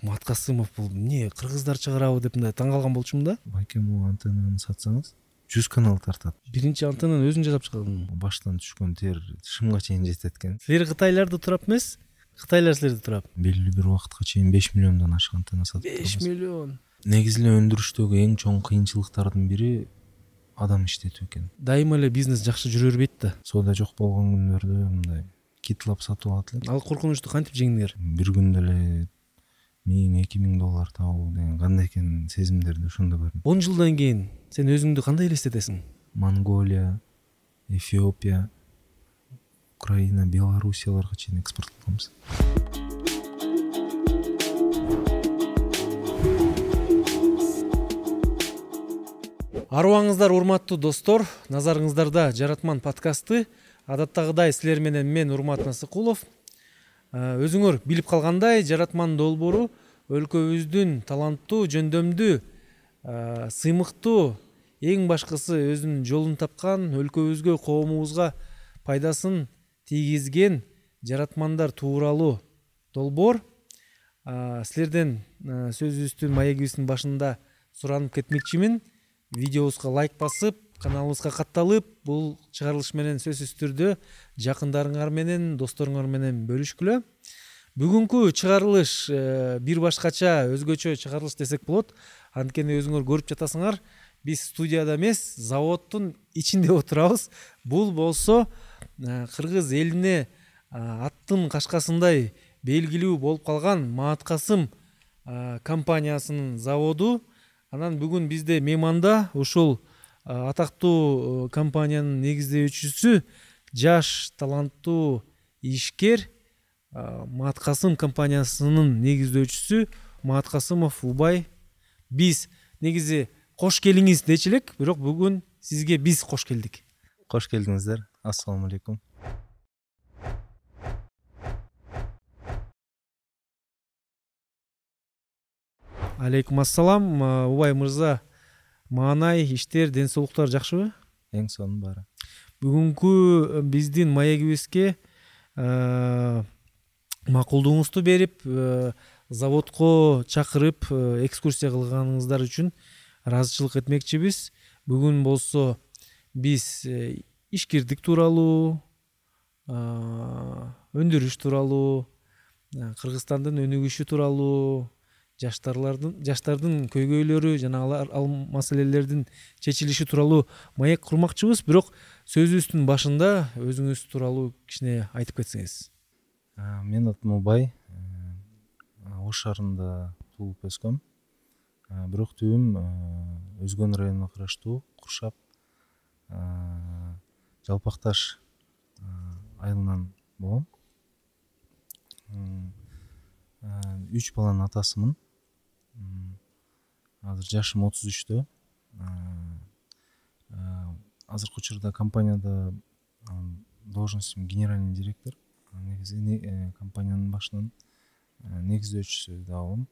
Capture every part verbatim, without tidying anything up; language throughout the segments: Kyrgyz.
Маткасымов бул эмне кыргыздар чыгарабы деп мындай таң калган болчумун да. Байке бул антеннаны сатсаңыз жүз канал тартат. Биринчи антеннаны өзүң жасап чыгардың. Баштан түшкөн тер тышымга чейин жетет экен. Силер Кытайларда турап эмес, Кытайлар силерде турап. Белгилүү бир убакытка чейин беш миллиондон ашык антенна сатып беш миллион. Негизи эле өндүрүштөгү эң чоң кыйынчылыктардын бири адам иштетүү экен. Дайыма эле бизнес жакшы жүрө бербейт да. Соода жок болгон күндөрдө мындай китлап сатып алат элем. Ал коркунучту кантип жеңдиңер? Бир күндө эле миң эки миң доллар табуу деген кандай экен сезимдерди ошондо көрдүм. он жылдан кийин сен өзүңдү кандай элестетесиң? Монголия, Эфиопия, Украина, Белоруссияларга чейин экспорт кылабыз. Арыбаңыздар урматтуу достор, назарыңыздарда Жаратман подкасты. Адаттагыдай силер менен мен Урмат Насыкулов. Өзүңөр билип калгандай, Жаратман долбоору өлкөбүздүн таланттуу, жөндөмдүү, сыймыктуу, эң башкысы өзүнүн жолун тапкан, өлкөбүзгө, коомубузга пайдасын тийгизген жаратмандар тууралуу долбоор. Силерден сөзүбүздүн маегибиздин башында суранып кетмекчимин. Видеобузга лайк басып, каналыбызга катталып, бул чыгарылыш менен сөзсүз түрдө жакындарыңар менен, досторуңар менен бөлүшкүлө. Бүгүнкү чыгарылыш бир башкача, өзгөчө чыгарылыш десек болот. Анткени өзүңөр көрүп жатасыңар, биз студияда эмес, заводдун ичинде отурабыз. Бул болсо кыргыз элине аттын кашкасындай белгилүү болуп калган Маткасым компаниясынын заводу. Анан бүгүн бизде мейманда ушул атактуу компаниянын негиздөөчүсү, жаш таланттуу ишкер, Маткасым компаниясынын негиздөөчүсү Маткасымов Убай. Биз негизи кош келиңиз дечи элек, бирок бүгүн сизге биз кош келдик. Кош келдиңиздер. Ассаламу алейкум. Алейкум ассалам. Убай мырза, маанай, иштер, ден соолуктар жакшыбы? Эң сонун баары. Бүгүнкү биздин маегибизге макулдугуңузду берип, заводко чакырып, экскурсия кылганыңыздар үчүн ыраазычылык этмекчибиз. Бүгүн болсо биз ишкердик тууралуу, өндүрүш тууралуу, Кыргызстандын өнүгүшү тууралуу, жаштарлардын жаштардын көйгөйлөрү жана ал маселелердин чечилиши тууралуу маек курмакчыбыз. Бирок сөзүбүздүн башында өзүңүз тууралуу кичине айтып кетсеңиз. Мен атым Убай. Ош шаарында туулуп өскөм. Бирок түйүм Өзгөн районуна караштуу Куршап, Жалпакташ айылынан болом. Үч баланын атасымын. Азыр жашым отуз үчтө. Азыркы учурда компанияда должностум генеральный директор. Негизи компаниянын башынын негиздөөчүсү да болом.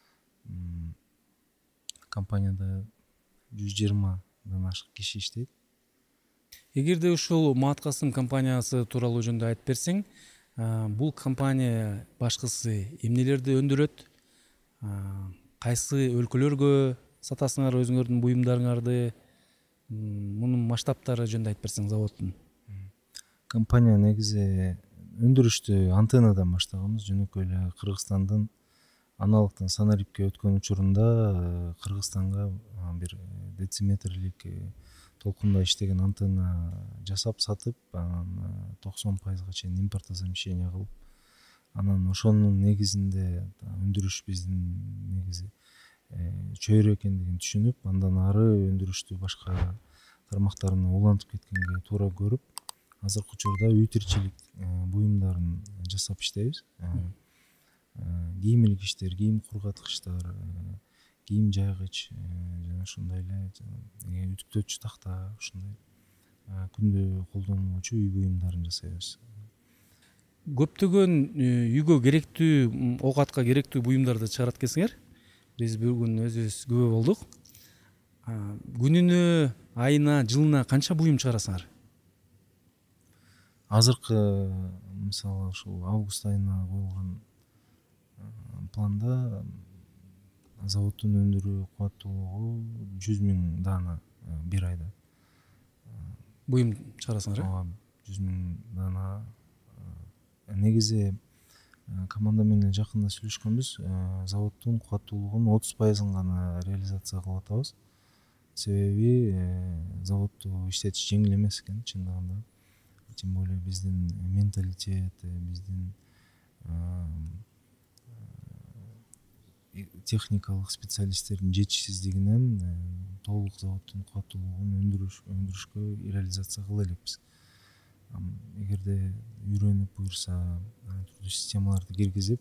Компанияда жүз жыйырмадан ашык киши иштейт. Эгерде ушул Маткасым компаниясы тууралуу жөнүндө айтып берсең, бул компания башкысы эмнелерди өндүрөт? Кайсы өлкөлөргө сатасыңар өзүңөрдүн буюмдарыңарды? Мунун масштабтары жөнүндө айтып берсең заводдун. Компания негизи өндүрүштү антеннадан баштаганбыз. Жөнөкөй эле Кыргызстандын аналогтон Санарипке өткөн учурунда Кыргызстанга бир дециметрлик толкунда иштеген антенна жасап сатып, анан токсон пайызга чейин импортозамещение кылып, анан ошонун негизинде өндүрүш биздин негизи чөйрө экендигин түшүнүп, андан ары өндүрүштү башка тармактарына улантып кеткенге туура көрүп, азыркы учурда үй тиричилик буюмдарын жасап иштейбиз. Кийим илгичтер, кийим кургаткычтар, кийим жайгыч жана ошондой эле үтүктөөчү такта, ушундай күндө колдонулуучу үй буюмдарын жасайбыз. Көптөгөн үйгө керектүү, оокатка керектүү буюмдарды чыгарат экенсиңер. Биз бүгүн өзүбүз күбө болдук. Күнүнө, айына, жылына канча буюм чыгарасыңар? Азыркы мисалы ушул август айына коюлган планда заводдун өндүрүү кубаттуулугу жүз миң даана бир айда. Буюм чыгарасыңар э? Ооба, жүз миң даана. Негизи команда менен жакында сүйлөшкөнбүз. Заводдун кубаттуулугунун отуз пайызын гана реализация кылып атабыз. Себеби заводду иштетиш жеңил эмес экен чындыгында. Тем более биздин менталитет, биздин техникалык специалисттердин жетишсиздигинен толук заводдун кубаттуулугун өндүрүш өндүрүшкө реализация кыла элекпиз. Эгерде үйрөнүп буюрса түрдүү системаларды киргизип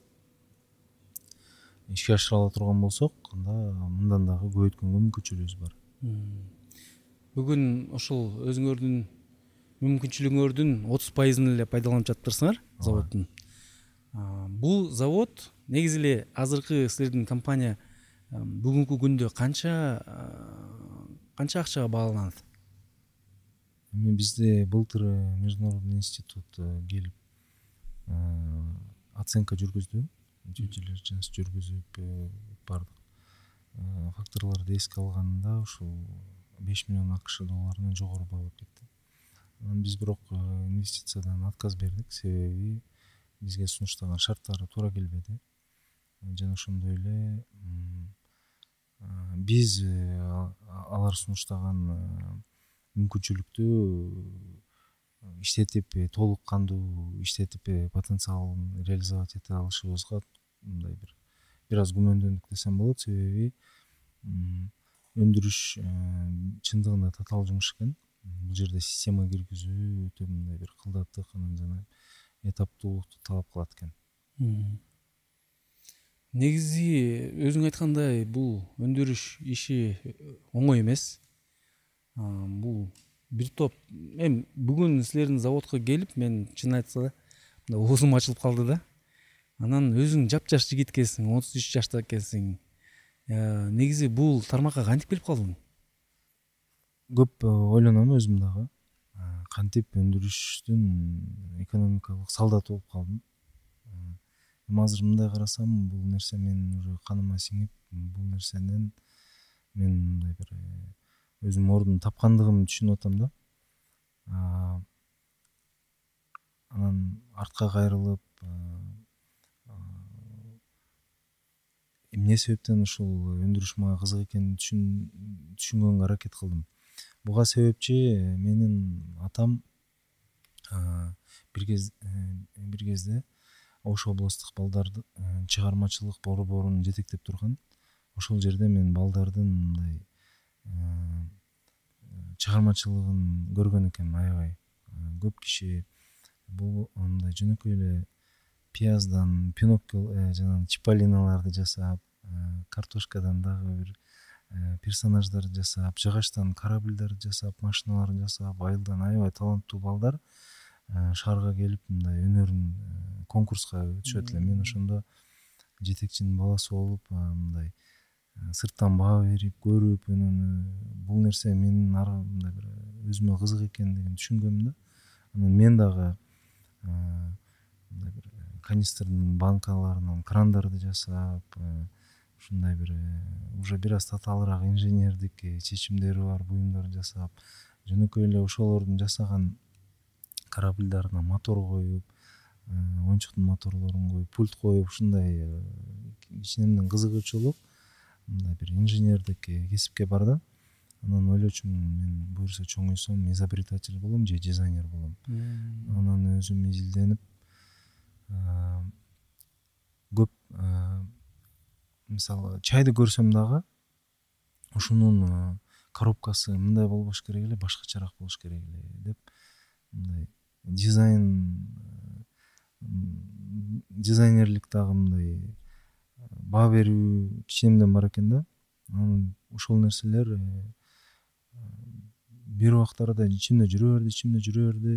ишке ашыра ала турган болсок, анда мындан дагы көбөйткөнгө мүмкүнчүлүгүбүз бар. Бүгүн ошол өзүңөрдүн мүмкүнчүлүгүңөрдүн отуз пайызын эле пайдаланып жатыптырсыңар заводдун. Бул завод негизи эле азыркы силердин компания бүгүнкү күндө канча канча акчага бааланат? Эми бизде былтыр международный институт келип оценка жүргүздү. Дилиженс жүргүзүп бардык факторлорду эске алганда ушул беш миллион акш долларынан жогору баалап кетти. Биз бирок инвестициядан отказ бердик, себеби бизге сунуштаган шарттары туура келбеди. Жана ошондой эле биз алар сунуштаган мүмкүнчүлүктү иштетип, толук кандуу иштетип потенциалын реализовать эте алышыбызга мындай бир бир аз күмөндөндүк десем болот. Себеби өндүрүш чындыгында татаал жумуш экен. Бул жерде система киргизүү өтө мындай бир кылдаттык жана этаптуулукту талап кылат экен. Негизи өзүң айткандай бул өндүрүш иши оңой эмес. Бул бир топ эми бүгүн силердин заводко келип мен чын айтса да оозум ачылып калды да. Анан өзүң жапжаш жигит экенсиң, отуз үч жашта экенсиң. Негизи бул тармакка кантип келип калдың? Көп ойлоном өзүм дагы. Кантип өндүрүштүн экономикалык солдаты болуп калдым. Эми азыр мындай карасам, бул нерсе менин уже каныма сиңип, бул нерседен мен мындай бир өзүм ордун тапкандыгымды түшүнүп атам да. Анан артка кайрылып, эмне себептен ушул өндүрүш мага кызык экенин түшүнгөнгө аракет кылдым. Буга себепчи менин атам бир кез бир кезде Ош областтык балдарды чыгармачылык борборун жетектеп турган. Ошол жерде мен балдардын мындай чыгармачылыгын көргөн экенмин аябай. Көп киши бул мындай жөнөкөй эле пияздан Пиноккио жана Чиполлиналарды жасап, картошкадан дагы бир персонаждар жасап, жыгачтан корабльдер жасап, машиналар жасап, айылдан аябай таланттуу балдар шаарга келип мындай өнөрүн конкурска өтүшөт эле. Мен ошондо жетекчинин баласы болуп, мындай сырттан баа берип, көрүп, бул нерсе менин ары мындай бир өзүмө кызык экендигин түшүнгөм да. Анан мен дагы мындай бир канистрдын банкаларынан крандарды жасап, ушундай бир уже бир аз татаалыраак инженердик чечимдери бар буюмдар жасап, жөнөкөй эле ошолордун жасаган корабльдарына мотор коюп, оюнчуктун моторлорун коюп, пульт коюп, ушундай кичинемден кызыгуучулук мындай бир инженердик кесипке бар да. Анан ойлочумун, мен буюрса чоңойсом изобретатель болом же дизайнер болом. Анан өзүм изилденип, көп мисалы чайды көрсөм дагы ушунун коробкасы мындай болбош керек эле, башкачараак болуш керек эле деп мындай дизайн дизайнерлик дагы мындай баа берүү кичинемден бар экен да. Анан ошол нерселер бир убактарда ичимде жүрө берди, ичимде жүрө берди.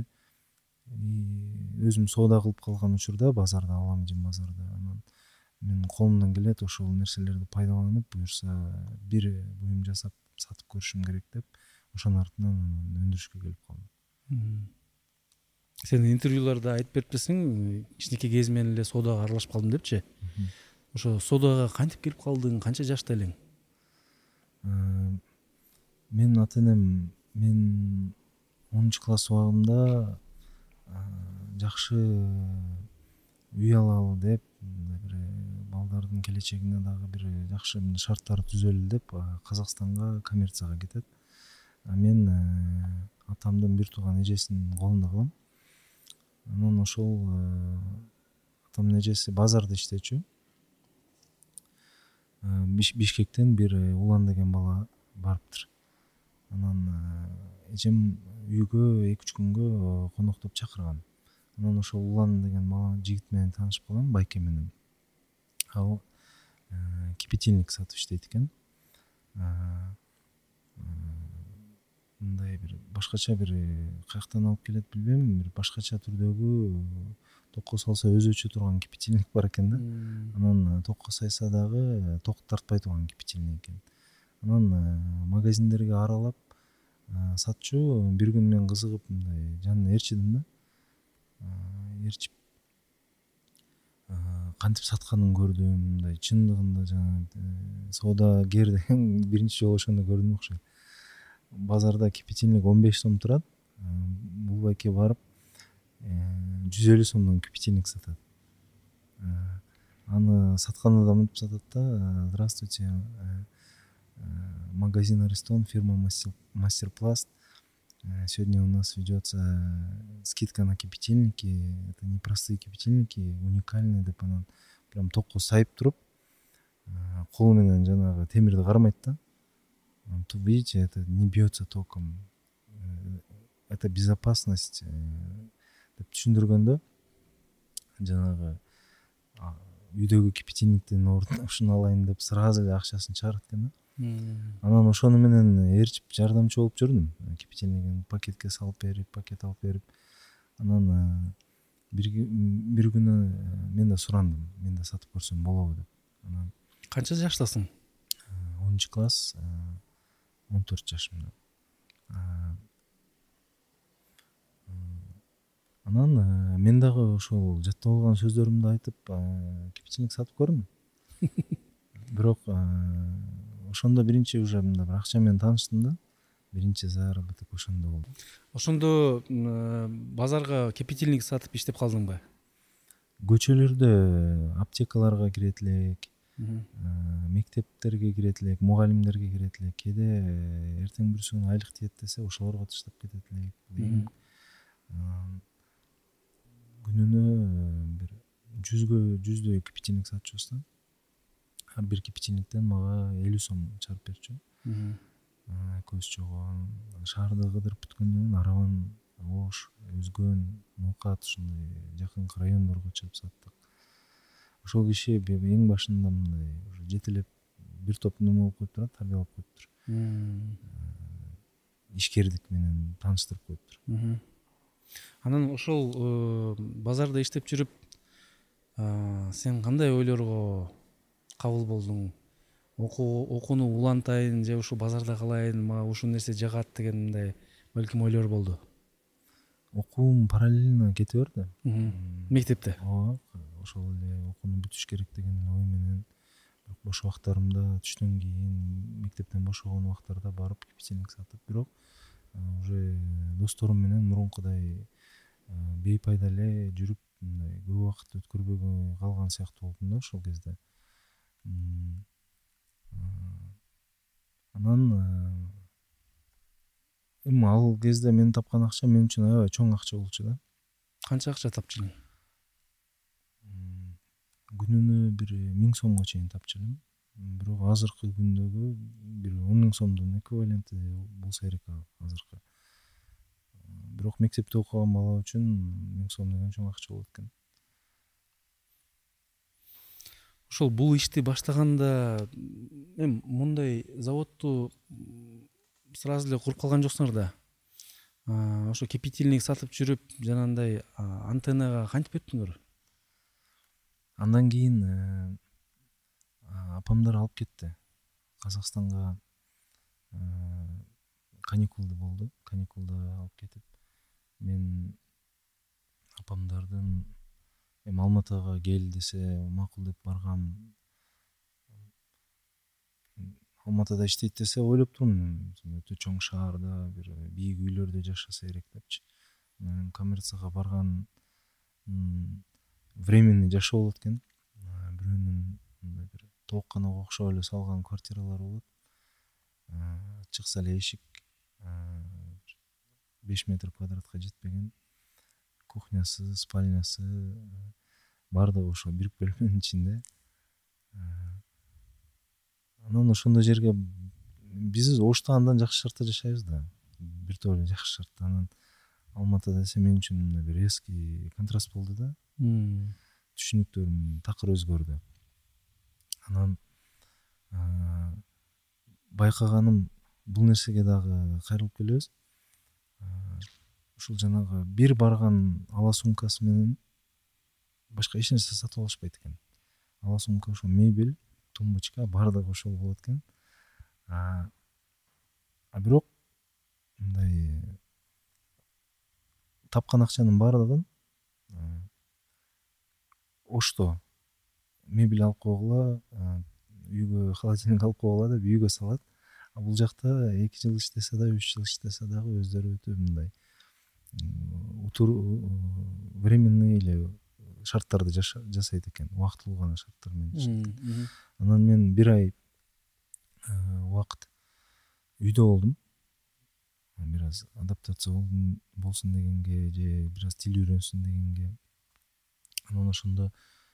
Өзүм соода кылып калган учурда базарда, Аламжин базарда, анан мен колумдан келет ошол нерселерди пайдаланып, буюрса бир буюм жасап сатып көрүшүм керек деп, ошонун артынан өндүрүшкө келип калдым. Сен интервьюларда айтып берипсиң, кичинекей кезимден эле соодага аралашып калдым депчи. ошо соодага кантип кирип калдың, канча жашта элең? Менин ата энем мен онунчу класс убагымда жакшы үй алалы деп, бир балдардын келечегине дагы бир жакшы шарттар түзөлү деп Казакстанга коммерцияга кетет. Мен атамдын бир тууган эжесинин колунда калам. Анан ошол атамдын эжеси базарда иштечү. Бишкектен бир Улан деген бала барыптыр. Анан эжем үйгө эки үч күнгө коноктоп чакырган. Анан ошол Улан деген бала жигит менен таанышып калгам, байке менен. Ал кипятильник сатып иштейт экен. Мындай бир башкача бир каяктан алып келет билбейм, бир башкача түрдөгү токко салса өзөчү турган кипятильник бар экен да. Анан токко сайса дагы ток тартпай турган кипятильник экен. Анан магазиндерге аралап сатчу. Бир күнү мен кызыгып мындай жанына ээрчидим да. Ээрчип кантип сатканын көрдүм. Мындай чындыгында жана соодагер деген биринчи жолу ошондо көрдүм окшойт. Базарда кипятильник он беш сом турат. Бул байке барып жүз элүү сомдон кипятильник сатат. Аны сатканда да мынтип сатат да: здравствуйте, магазин Аристон, фирма Мастерпласт. Сегодня у нас ведется скидка на кипятильники. Это не простые кипятильники, уникальные деп анан прям токко сайып туруп, колу менен жанагы темирди кармайт да. Тут видите, это не бьется током. Это безопасность деп түшүндүргөндө, жанагы үйдөгү кипятильниктин ордуна ушуну алайын деп сразу эле акчасын чыгарат экен да. Анан ошону менен ээрчип жардамчы болуп жүрдүм. Кипятильнигин пакетке салып берип, пакет алып берип. Анан бир бир күнү мен да сурандым, мен да сатып көрсөм болобу деп. Анан канча жаштасың? онунчу класс, он төрт жашымда. Анан мен дагы ошол жаттап алган сөздөрүмдү айтып кипятильник сатып көрдүм. Бирок ошондо биринчи уже мында бир акча менен тааныштым да. Биринчи заработок ошондо болду. Ошондо базарга кипятильник сатып иштеп калдыңбы? Көчөлөрдө аптекаларга кирет элек, мектептерге кирет элек, мугалимдерге кирет элек. Кээде эртең бир күнү айлык тиет десе, ошолорго таштап кетет элек. Күнүнө бир жүзгө жүздөй кипятильник сатчубуз да. Бир кипятильниктен мага элүү сом чыгарып берчү. Экөөбүз чогуу шаарды кыдырып бүткөндөн кийин арабан Ош, Өзгөн, Ноокат ушундай жакынкы райондорго чыгып саттык. Ошол киши эң башында мындай уже жетелеп бир топ неме болуп коюптур, тарбиялап коюптур. Ишкердик менен тааныштырып коюптур. Анан ошол базарда иштеп жүрүп сен кандай ойлорго кабыл болдуң? Окууну улантайын же ушу базарда калайын, мага ушул нерсе жагат деген мындай балким ойлор болду. Окуум параллельно кете берди. Мектепте? Ооба, ошол эле окууну бүтүш керек деген ой менен бош убактарымда түштөн кийин мектептен бошогон убактарда барып кипятильник сатып, бирок уже досторум менен мурункудай бейпайда эле жүрүп мындай көп убакыт өткөрбөй калган сыяктуу болдум да ошол кезде. Анан эми ал кезде мен тапкан акча мен үчүн аябай чоң акча болчу да. Канча акча тапчу элең? Күнүнө бир миң сомго чейин тапчу элем. Бирок азыркы күндөгү бир он миң сомдун эквиваленти болсо керек азыркы. Бирок мектепте окуган бала үчүн миң сом деген чоң акча болот экен. Ошол бул ишти баштаганда эми мындай заводду сразу эле куруп калган жоксуңар да. Ошо кипятильник сатып жүрүп жанагындай антеннага кантип өттүңөр? Андан кийин апамдар алып кетти. Казакстанга каникулда болду. Каникулда алып кетип, мен апамдардын эми Алматыга кел десе макул деп баргам. Алматыда иштейт десе ойлоп турмун, өтө чоң шаарда бир бийик үйлөрдө жашаса керек депчи. Анан коммерцияга барган временный жашоо болот экен. Бирөөнүн мындай бир тоокканага окшоп эле салган квартиралар болот. Чыкса эле эшик беш метр квадратка жетпеген, кухнясы, спальнясы баардыгы ошо бир бөлмөнүн ичинде. Анан ошондой жерге биз Ошто андан жакшы шартта жашайбыз да. Бир топ эле жакшы шартта. Анан Алматыда десе мен үчүн мындай бир резкий контраст болду да. Түшүнүктөрүм такыр өзгөрдү. Анан байкаганым бул нерсеге дагы кайрылып келебиз. Ушул жанагы бир барган ала сумкасы менен башка эч нерсе сатып алышпайт экен. Ала сумка ошо мебель, тумбочка баардыгы ошол болот экен. А бирок мындай тапкан акчанын баардыгын Ошто мебель алып койгула, үйгө холодильник алып койгула деп үйгө салат. А бул жакта эки жыл иштесе да, үч жыл иштесе дагы өздөрү өтө мындай временный эле шарттарды жасайт экен, убактылуу гана шарттар менен жашайт. Анан мен бир ай убакыт үйдө болдум. Бир аз адаптация болсун дегенге же бир аз тил үйрөнсүн дегенге. Анан ошондо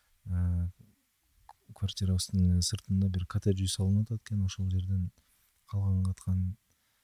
квартирабыздын сыртында бир коттедж үй салынып атат экен. Ошол жерден калган каткан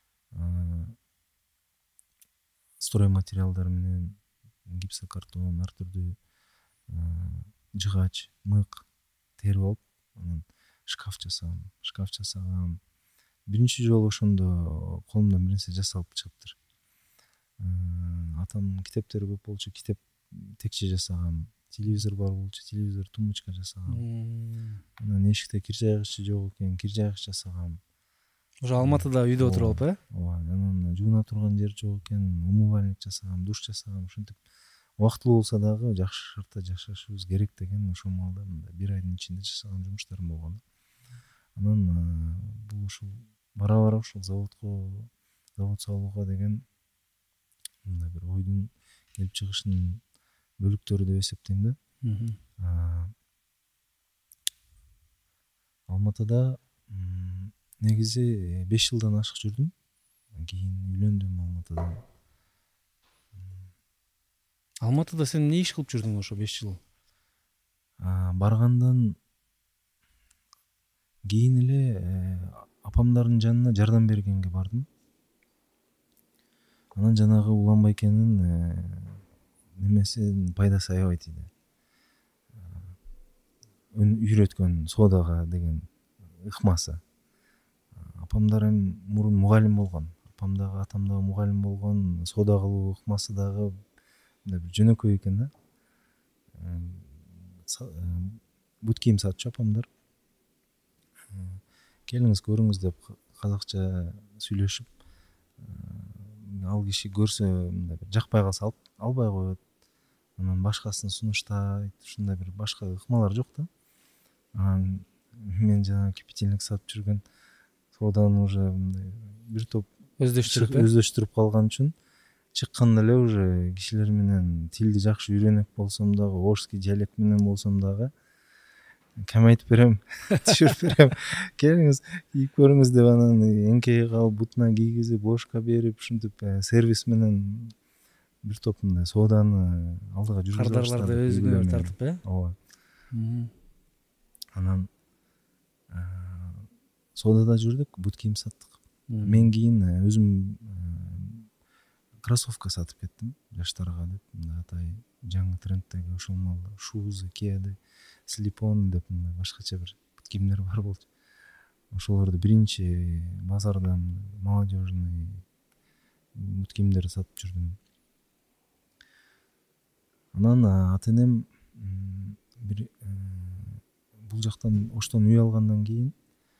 строй материалдар менен гипсокартон, ар түрдүү жыгач, мык терип алып, анан шкаф жасагам. Шкаф жасагам. Биринчи жолу ошондо колумдан бир нерсе жасалып чыгыптыр. Атамдын китептери көп болчу, китеп текче жасагам. Телевизор бар болчу, телевизор тумбочка жасагам. Анан эшикте кир жайгычы жок экен, кир жайгыч жасагам. Ошо Алматыда үйдө отуруп алып, э? Ооба, анан жууна турган жер жок экен, умывальник жасагам, душ жасагам. Ушинтип убактылуу болсо дагы жакшы шартта жашашыбыз керек деген ошол маалда мындай бир айдын ичинде жасаган жумуштарым болгон. Анан бул ушул бара-бара ушул заводко, завод салууга деген мындай бир ойдун келип чыгышынын бөлүктөрү деп эсептейм да. Алматыда негизи беш жылдан ашык жүрдүм. Кийин үйлөндүм Алматыда. Алматыда сен эмне иш кылып жүрдүң ошо беш жыл? Баргандан кийин эле апамдардын жанына жардам бергенге бардым. Анан жанагы Улан Байкенин немесин пайдасы аябай тийди. Үйрөткөн содага деген ыкмасы. Апамдар эми мурун мугалим болгон. Апам дагы, атам дагы мугалим болгон. Сода кылуу ыкмасы дагы мындай бир жөнөкөй экен да. Бут кийим сатчу апамдар. Келиңиз көрүңүз деп казакча сүйлөшүп, ал киши көрсө мындай бир жакпай калса албай коет. Анан башкасын сунуштайт, ушундай бир башка ыкмалар жок да. Анан мен жана кипятильник сатып жүргөн соданы уже мындай бир топ өздөштүрүп өздөштүрүп калган үчүн чыкканда эле уже кишилер менен тилди жакшы үйрөнөк болсом дагы, орский диалект менен болсом дагы кем айтып берем, түшүрүп берем. Келиңиз, кийип көрүңүз деп анан эңкейип калып бутуна кийгизип, бошка берип, ушинтип сервис менен бир топ мындай соданы алдыга жүргүзүп баштадым. Кардарларды өзүңөр тартып, э? Ооба. Анан содада жүрдүк, бут кийим саттык. Мен кийин өзүм кроссовка сатып кеттим жаштарга деп, мындай атай жаңы тренддеги ошол маалда шузы, кеды, слипоны деп мындай башкача бир бут кийимдер бар болчу. Ошолорду биринчи базардан молодежный бут кийимдерди сатып жүрдүм. Анан ата-энем бир бул жактан Оштон үй алгандан кийин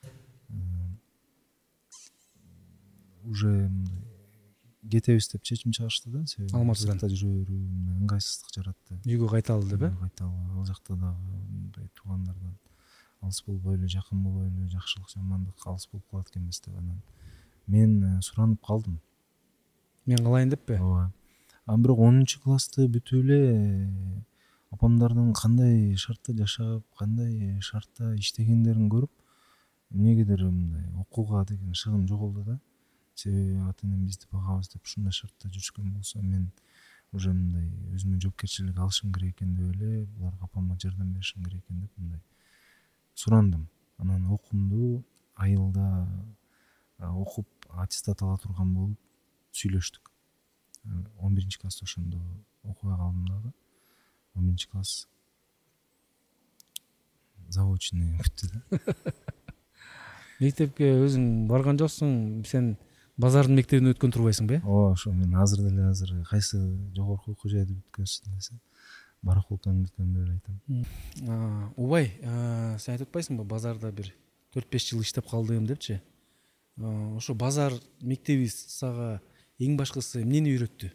уже кетебиз деп чечим чыгарышты да. Алматыдан жүрүү ыңгайсыздык жаратты. Үйгө кайталы деп, э? Кайталы. Ал жакта дагы мындай туугандардан алыс болбойлу, жакын болойлу, жакшылык жамандык алыс болуп калат экенбиз деп анан мен суранып калдым. Мен кылайын деппи? Ооба. Анан бирок онунчу классты бүтүп эле апамдардын кандай шартта жашап, кандай шартта иштегендерин көрүп, эмнегедир мындай окууга деген шыгым жоголду да. Себеби ата энем бизди багабыз деп ушундай шартта жүрүшкөн болсо, мен уже мындай өзүмө жоопкерчилик алышым керек экен деп эле, буларга апама жардам беришим керек экен деп мындай сурандым. Анан окуумду айылда окуп аттестат ала турган болуп сүйлөштүк. он биринчи класста ошондо окубай калдым дагы. он биринчи класс заочный бүттү да. Мектепке өзүң барган жоксуң, сен базардын мектебине өткөн турбайсыңбы? Ооба, ошо мен азыр деле азыр кайсы жогорку окуу жайды бүткөнсүң десе, барахолканы бүткөн деп айтам. Убай, сен айтып атпайсыңбы, базарда бир төрт беш жыл иштеп калдым депчи? Ошо базар мектеби сага эң башкысы эмнени үйрөттү?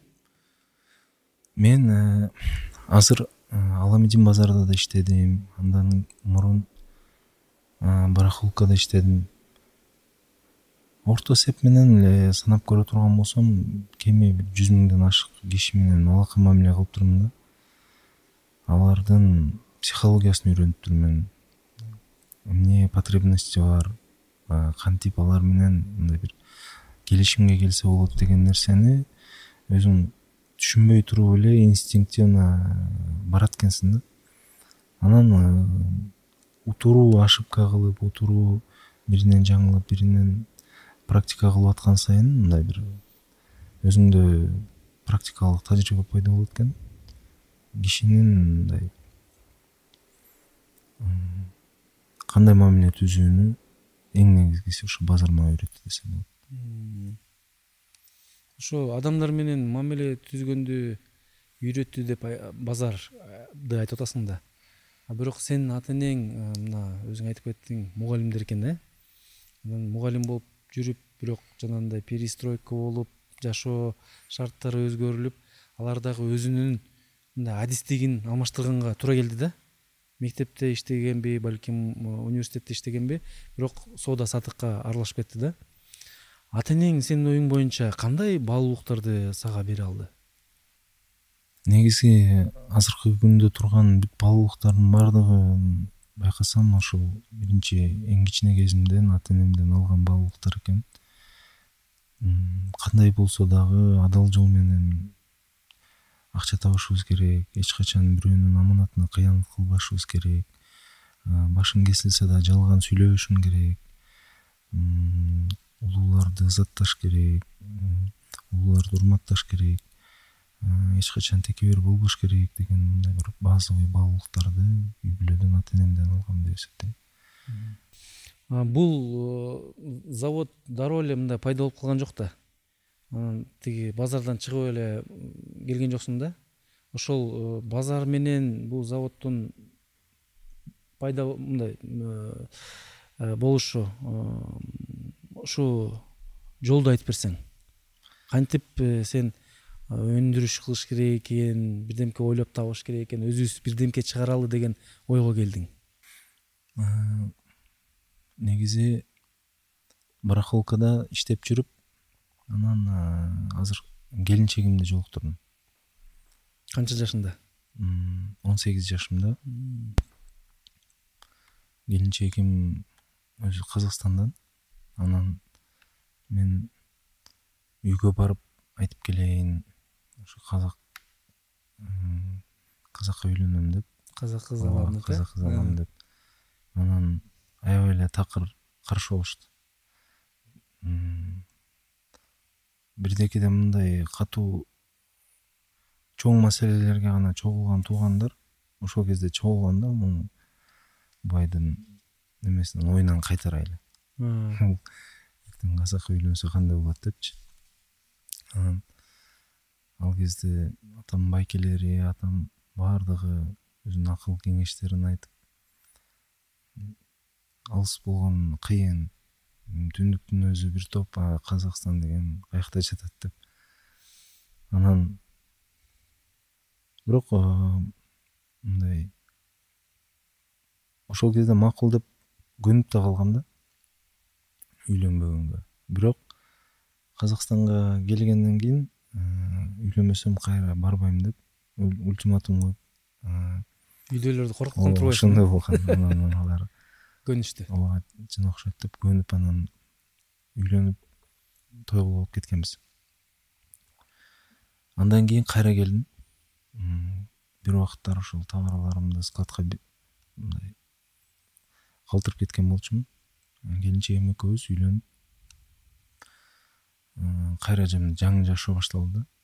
Мен азыр Аламедин базарда да иштедим, андан мурун барахолкада иштедим. Орто эсеп менен эле санап көрө турган болсом, кеми бир жүз миңден ашык киши менен алака мамиле кылып турмун да. Алардын психологиясын үйрөнүп турмун. Эмне потребности бар, кантип алар менен мындай бир келишимге келсе болот деген нерсени өзүң түшүнбөй туруп эле инстинктивно барат экенсиң да. Анан утуруу ошибка кылып, утуруу биринен жаңылып, биринен практика кылып аткан сайын мындай бир өзүңдө практикалык тажрыйба пайда болот экен. Кишинин мындай кандай мамиле түзүүнү эң негизгиси ошо базар мага үйрөттү десем болот. Ошо адамдар менен мамиле түзгөндү үйрөттү деп базарды айтып атасың да. А бирок сенин ата энең мына өзүң айтып кеттиң, мугалимдер экен, э? Анан мугалим болуп жүрүп, бирок жанагындай перестройка болуп, жашоо шарттары өзгөрүлүп, алар дагы өзүнүн мындай адистигин алмаштырганга туура келди да. Мектепте иштегенби, балким университетте иштегенби, бирок соода сатыкка аралашып кетти да. Ата энең сенин оюң боюнча кандай баалуулуктарды сага бере алды? Негизи азыркы күндө турган бүт баалуулуктардын баардыгын байкасам, ошол биринчи эң кичине кезимден ата энемден алган баалуулуктар экен. Кандай болсо дагы адал жол менен акча табышыбыз керек, эч качан бирөөнүн аманатына кыянат кылбашыбыз керек, башың кесилсе да жалган сүйлөбөшүң керек, улууларды ызатташ керек, улууларды урматташ керек, эч качан текебер болбош керек деген мындай бир базовый баалуулуктарды үй бүлөдөн ата энемден алгам деп эсептейм. Бул завод дароо эле мындай пайда болуп калган жок да. Тиги базардан чыгып эле келген жоксуң да. Ошол базар менен бул заводдун пайда мындай болушу ушу жолду айтып берсең. Кантип сен өндүрүш кылыш керек экен, бирдемке ойлоп табыш керек экен, өзүбүз бирдемке чыгаралы деген ойго келдиң? Негизи барахолкада иштеп жүрүп, анан азыр келинчегимди жолуктурдум. Канча жашында? он сегиз жашымда. Келинчегим өзү Казакстандан. Анан мен үйгө барып айтып келейин, ошо казак казакка үйлөнөм деп, казак кыз алам деп, казак кыз алам деп. Анан аябай эле такыр каршы болушту. Бирдекеде мындай катуу чоң маселелерге гана чогулган туугандар ошол кезде чогулганда муну байдын немесинен оюнан кайтарайлы. Эртең казакка үйлөнсө кандай болот депчи. Анан ал кезде атам байкелери, атам баардыгы өзүнүн акыл кеңештерин айтып, алыс болгон кыйын, түндүктүн өзү бир топ, Казакстан деген каякта жатат деп. Анан бирок мындай ошол кезде макул деп көнүп да калгам да үйлөнбөгөнгө. Бирок Казакстанга келгенден кийин үйлөнбөсөм кайра барбайм деп ультиматум коюп үйдөлөрдү коркуткан турбайсың? Ошондой болгон. Анан алар көнүштү. ооба жана окшойт деп көнүп анан үйлөнүп той кылып кеткенбиз. Андан кийин кайра келдим. Бир убакыттар ошол товарларымды складка мындай калтырып кеткен болчумун. Келинчегим экөөбүз үйлөнүп кайра жаңы жашоо башталды да.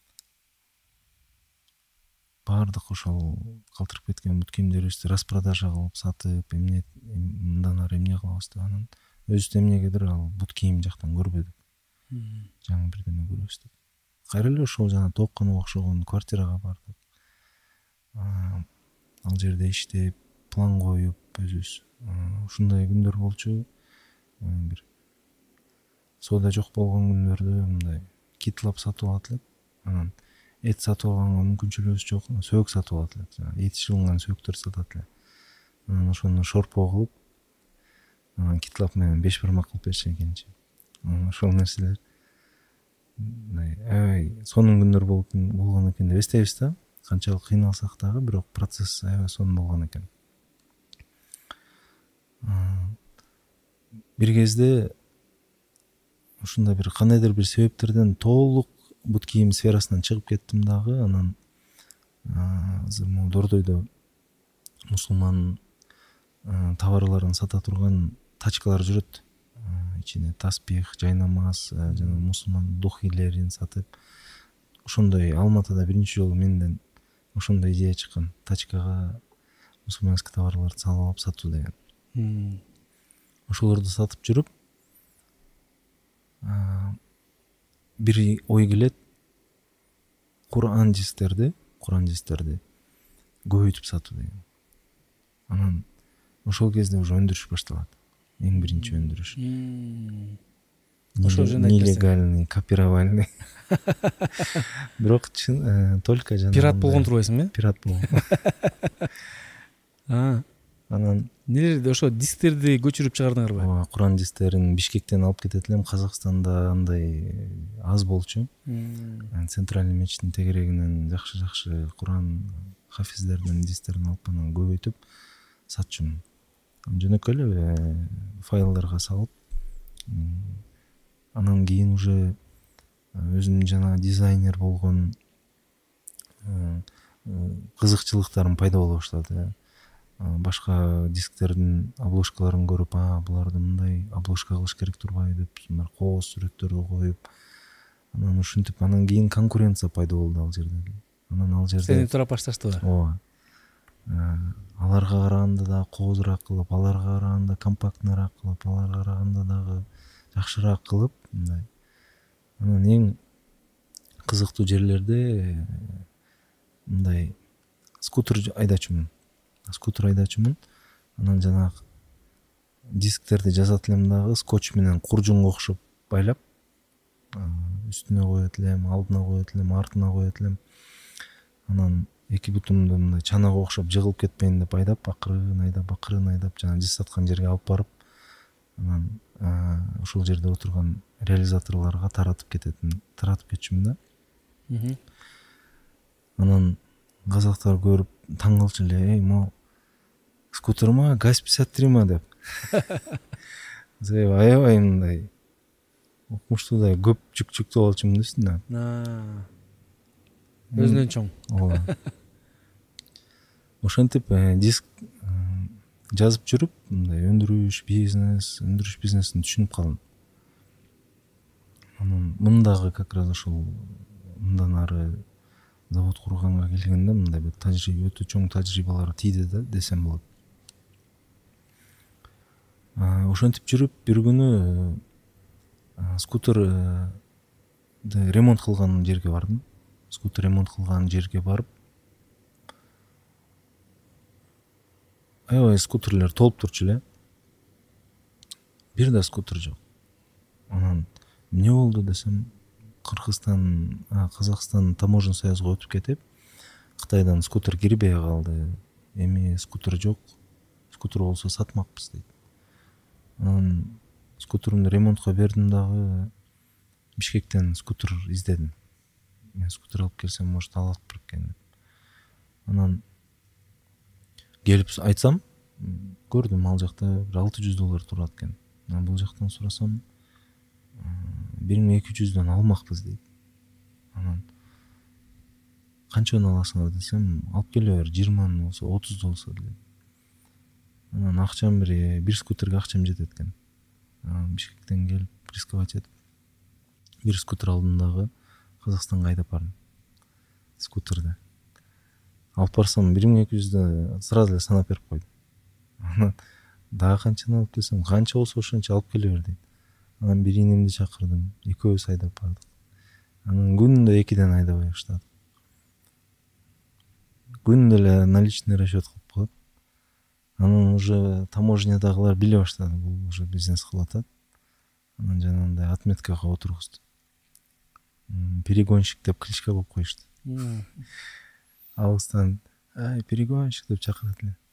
Баардык ошол калтырып кеткен бут кийимдерибизди распродажа кылып сатып, эмне мындан ары эмне кылабыз деп анан өзүбүз эмнегедир ал бут кийим жактан көрбөдүк. Жаңы бирдеме көрөбүз деп. Кайра эле ошол жана тоокканага окшогон квартирага бардык. Ал жерде иштеп, план коюп өзүбүз. Ушундай күндөр болчу. Бир соода жок болгон күндөрдө мындай китлап сатып алат элек. Анан эт сатып алганга мүмкүнчүлүгүбүз жок. Сөөк сатып алат элек. Эти жылынган сөөктөр сатат элек. Анан ошону шорпо кылып, анан китлап менен беш бармак кылып берчү экенчи. Ошол нерселер мындай аябай сонун күндөр болгон экен деп эстейбиз да. Канчалык кыйналсак дагы, бирок процесс аябай сонун болгон экен. Бир кезде ушундай бир кандайдыр бир себептерден толук бут кийим сферасынан чыгып кеттим дагы. Анан азыр могу Дордойдо мусулман товарларын сата турган тачкалар жүрөт. Ичине таспих, жайнамаз жана мусулман духилерин сатып. Ошондой Алматыда биринчи жолу менден ошондой идея чыккан. Тачкага мусулманский товарларды салып алып сатуу деген. Ошолорду сатып жүрүп, бир ой келет. Куран дистерди, Куран дистерди көбөйтүп сатуу деген. Анан ошол кезде уже өндүрүш башталат. Эң биринчи өндүрүш. Ошол жерде нелегальный, копировальный. Бирок только жана пират болгон турбайсыңбы? Пират болгон. Анан нелерди ошо дисктерди көчүрүп чыгардыңарбы? Ооба, Куран дистерин Бишкектен алып кетет элем. Казакстанда андай аз болчу. Центральный мечиттин тегерегинен жакшы-жакшы Куран хафиздердин дистерин алып анан көбөйтүп сатчумун. Жөнөкөй эле файлдарга салып, анан кийин уже өзүм жана дизайнер болгон кызыкчылыктарым пайда боло баштады. Башка дисктердин обложкаларын көрүп, а буларды мындай обложка кылыш керек турбайбы деп, мына кооз сүрөттөрдү коюп, анан ушинтип анан кийин конкуренция пайда болду ал жерде. Анан ал жерде сени турап башташтыбы? Ооба. Аларга караганда да коозураак кылып, аларга караганда компактныйраак кылып, аларга караганда дагы жакшыраак кылып, мындай. Анан эң кызыктуу жерлерде мындай скутер айдачумун. Скутер айдачумун. Анан жанагы дисктерди жазат элем дагы скотч менен куржунга окшоп байлап, үстүнө коет элем, алдына коет элем, артына коет элем. Анан эки бутумду мындай чанага окшоп жыгылып кетпейин деп айдап, акырын айдап, акырын айдап, жана диз саткан жерге алып барып, анан ошол жерде отурган реализаторлорго таратып кететин, таратып кетчүмүн да. Анан казактар көрүп таң калчу эле, эй, могу скутер ма, ГАЗ пятьдесят три ма деп. Аябай мындай укмуштуудай көп жүк жүктөп алчумун да үстүнө. Өзүнөн чоң. Ооба. Ошентип диск жазып жүрүп, мындай өндүрүш бизнес, өндүрүш бизнесин түшүнүп калдым. Анан мындагы как раз ошол мындан ары завод курганга келгенде мындай бир тажрыйба, өтө чоң тажрыйбалар тийди да десем болот. Ошентип жүрүп, бир күнү скутерди ремонт кылган жерге бардым. Скутер ремонт кылган жерге барып, аябай скутерлер толуп турчу эле. Бир да скутер жок. Анан эмне болду десем, Кыргызстан, Казакстан таможен союзга өтүп кетип, Кытайдан скутер кирбей калды. Эми скутер жок. Скутер болсо сатмакпыз дейт. анан скутерымды ремонтко бердим дагы. Бишкектен скутер издедим. Мен скутер алып келсем, может алат экен деп. Анан келип айтсам, көрдүм ал жакта бир алты жүз доллар турат экен. Анан бул жактан сурасам, бир миң эки жүздөн алмакпыз дейт. Анан канчаны аласыңар десем, алып келе бер, жыйырманы болсо, отузду болсо дейт. Анан акчам бир бир скутерге акчам жетет экен. Анан Бишкектен келип рисковать этип бир скутер алдым дагы Казакстанга айдап бардым. Скутерди алып барсам бир миң эки жүздө сразу эле санап берип койду. Анан дагы канчаны алып келсем, канча болсо ошончо алып келе бер дейт. Анан бир инемди чакырдым, экөөбүз айдап бардык. Анан күнүндө экиден айдабай баштадык. Күнүндө эле наличный расчет кылып коет. Анан уже таможнядагылар биле баштады, бул уже бизнес кылып атат. Анан жанагындай отметкага отургузду. Перегонщик деп кличка болуп коюшту. Алыстан ай перегонщик деп чакырат эле.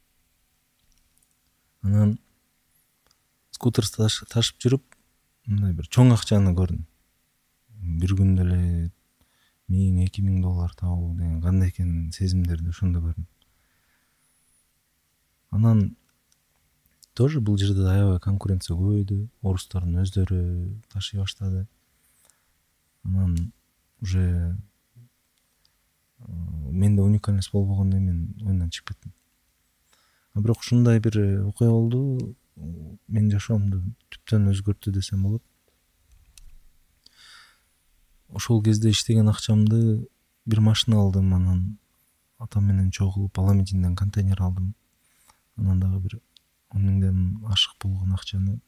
Анан скутер ташып жүрүп, мындай бир чоң акчаны көрдүм. Бир күндө эле миң, эки миң доллар табуу деген кандай экен сезимдерди ошондо көрдүм. Анан тоже бул жерде аябай конкуренция көбөйдү. Орустардын өздөрү ташый баштады. Анан уже менде уникальность болбогондой мен оюндан чыгып кеттим. А бирок ушундай бир окуя болду, менин жашоомду түптөн өзгөрттү десем болот. Ошол кезде иштеген акчамды бир машина алдым, анан атам менен чогулуп Паламидинден контейнер алдым. Анан дагы бир он миңден ашык болгон акчаны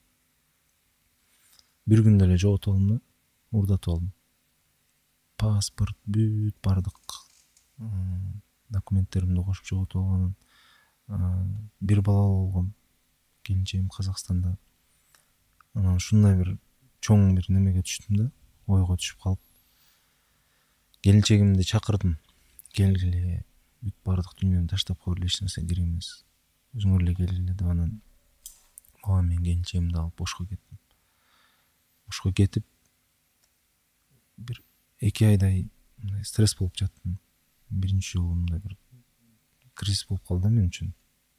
бир күндө эле жоготуп алдым да, урдатып алдым. Паспорт, бүт бардык документтеримди кошуп жоготуп алганын. Бир балалуу болгом, келинчегим Казакстанда. Анан ушундай бир чоң бир немеге түштүм да, ойго түшүп калып. Келинчегимди чакырдым. Келгиле, бүт бардык дүйнөнү таштап койгула, эч нерсе керек эмес. Өзүңөр эле келгиле деп анан бала менен келинчегимди алып Ошко кеттим. Ошко кетип бир эки айдай стресс болуп жаттым. Биринчи жолу мындай бир кризис болуп калды мен үчүн.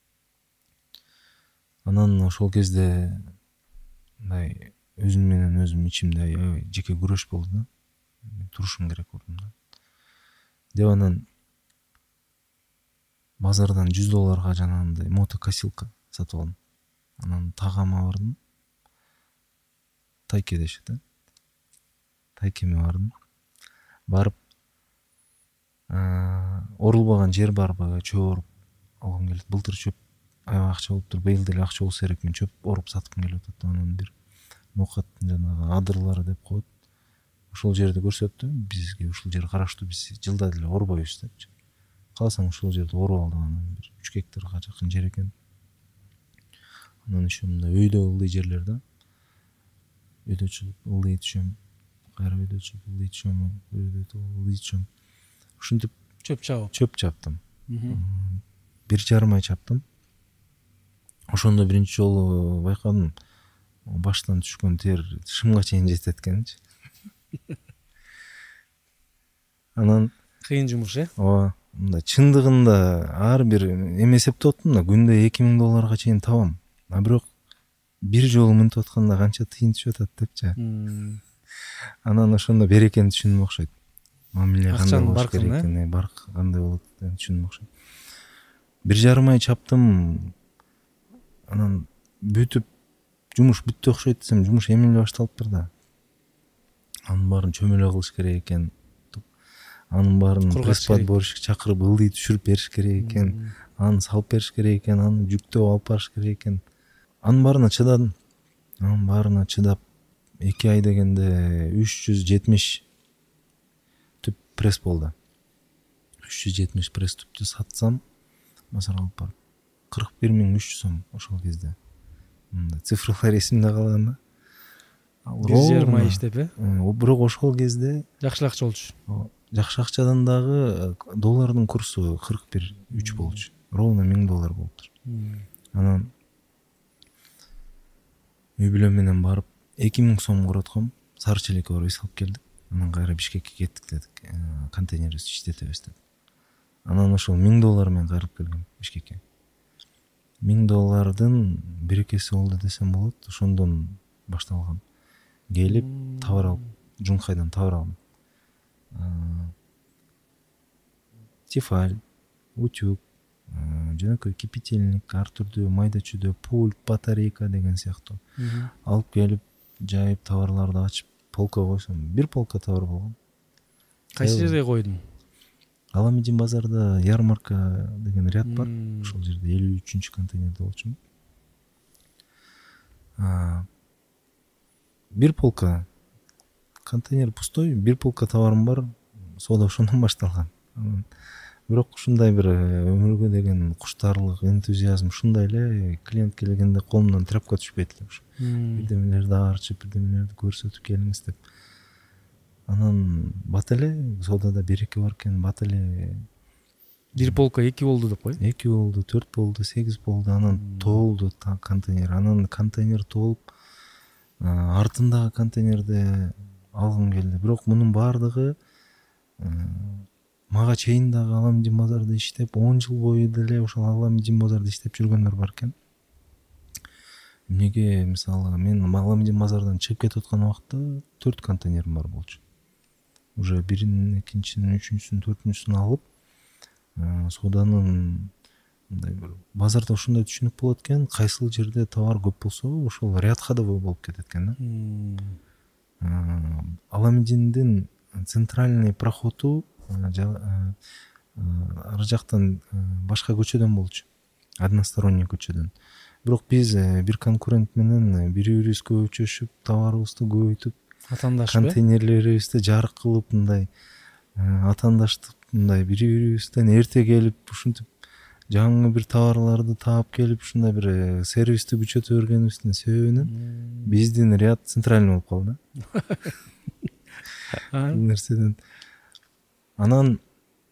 Анан ошол кезде мындай өзүм менен өзүм ичимде аябай жеке күрөш болду да. Турушум керек болдум да. Деп анан базардан жүз долларга жанагындай мотокосилка сатып алдым. Анан тагама бардым. Тайке дешет, да. Тайкеме бардым. Барып орулбаган жер барбы, чөп оруп алгым келет. Былтыр чөп аябай акча болуптур. Быйыл деле акча болсо керек, мен чөп оруп саткым келип атат. Анан бир нокаттын жанагы адырлары деп коет. Ошол жерди көрсөттү. Бизге ушул жер караштуу, биз жылда деле орбойбуз депчи. Калсаң ушул жерди оруп алдым. Анан бир үч гектарга жакын жер экен. Анан ошо мындай өйдө ылдый жерлер да. Өйдө чыгып ылдый түшөм. Кайра өйдө чыгып ылдый түшөм. Өйдө ылдый түшөм. Ушинтип чөп чабып. Чөп чаптым. Бир жарым ай чаптым. Ошондо биринчи жолу байкадым. Баштан түшкөн тер шымга чейин жетет экенчи. Анан кыйын жумуш, э? Ооба. Мындай чындыгында ар бир эме эсептеп аттым да, күндө эки миң долларга чейин табам. А бирок бир жолу мынтип атканда канча тыйын түшүп атат депчи. Анан ошондо берекени түшүндүм окшойт. Мамиле кандай болуш керек экени, барк кандай болот деп түшүндүм окшойт. Бир жарым ай чаптым. Анан бүтүп жумуш бүттү окшойт десем, жумуш эми эле башталыптыр да. Анын баарын чөмөлө кылыш керек экен. Анын баарын пресс-подборщик чакырып ылдый түшүрүп бериш керек экен. Аны салып бериш керек экен, аны жүктөп алып барыш керек экен. Анын баарына чыдадым. Анын баарына чыдап эки ай дегенде үч жүз жетимиш түп пресс болду. үч жүз жетимиш пресс түптү сатсам, базарга алып барып кырк бир миң үч жүз сом ошол кезде. Мындай цифрлар эсимде калган да. бир жарым ай иштеп, э? Бирок ошол кезде жакшы акча болчу. Жакшы акчадан дагы доллардын курсу кырк бир үч болчу. Ровно миң доллар болуптур. Анан үй бүлө менен барып эки миң сом коротком, Сары Челекке барып эс алып келдик. Анан кайра Бишкекке кеттик дедик, контейнерибизди иштетебиз деп. Анан ошол миң доллар менен кайрылып келгем Бишкекке. Миң доллардын берекеси болду десем болот. Ошондон башталган. Келип товар алып, Жункайдан товар алдым. Тефаль, утюг, жөнөкөй кипятильник, ар түрдүү майда чүйдө, пульт, батарейка деген сыяктуу алып келип, жайып товарларды ачып, полка койсом, бир полка товар болгон. Кайсы жерге койдуң? Аламедин базарда ярмарка деген ряд бар. Ошол жерде элүү үчүнчү контейнерде болчумун. Бир полка контейнер пустой, бир полка товарым бар. Соода ошондон башталган. Бирок ушундай бир өмүргө деген куштарлык, энтузиазм ушундай эле, клиент келгенде колумдан тряпка түшпөйт эле ушу. Бирдемелерди аарчып, бирдемелерди көрсөтүп келиңиз деп. Анан бат эле соодада береке бар экен, бат эле бир полка эки болду деп кой. эки болду, төрт болду, сегиз болду. Анан толду контейнер. Анан контейнер толуп, артындагы контейнерди алгым келди. Бирок мунун баардыгы мага чейин дагы Аламедин базарда иштеп, он жыл бою деле ошол Аламедин базарда иштеп жүргөндөр бар экен. Эмнеге, мисалы, мен Аламедин базардан чыгып кетип аткан убакта төрт контейнерим бар болчу. Уже бирин, экинчисин, үчүнчүсүн, төртүнчүсүн алып, сооданын мындай бир базарда ушундай түшүнүк болот экен, кайсыл жерде товар көп болсо, ошол ряд ходовой болуп кетет экен да. Аламединдин центральный проходу ар жактан башка көчөдөн болчу. Односторонний көчөдөн. Бирок биз бир конкурент менен бири-бирибизге өчөшүп, товарыбызды көбөйтүп, контейнерлерибизди жарык кылып, мындай атаандаштык, мындай бири-бирибизден эрте келип, ушинтип жаңы бир товарларды таап келип, ушундай бир сервисти күчөтө бергенибиздин себебинен биздин ряд центральный болуп калды. Бул нерседен анан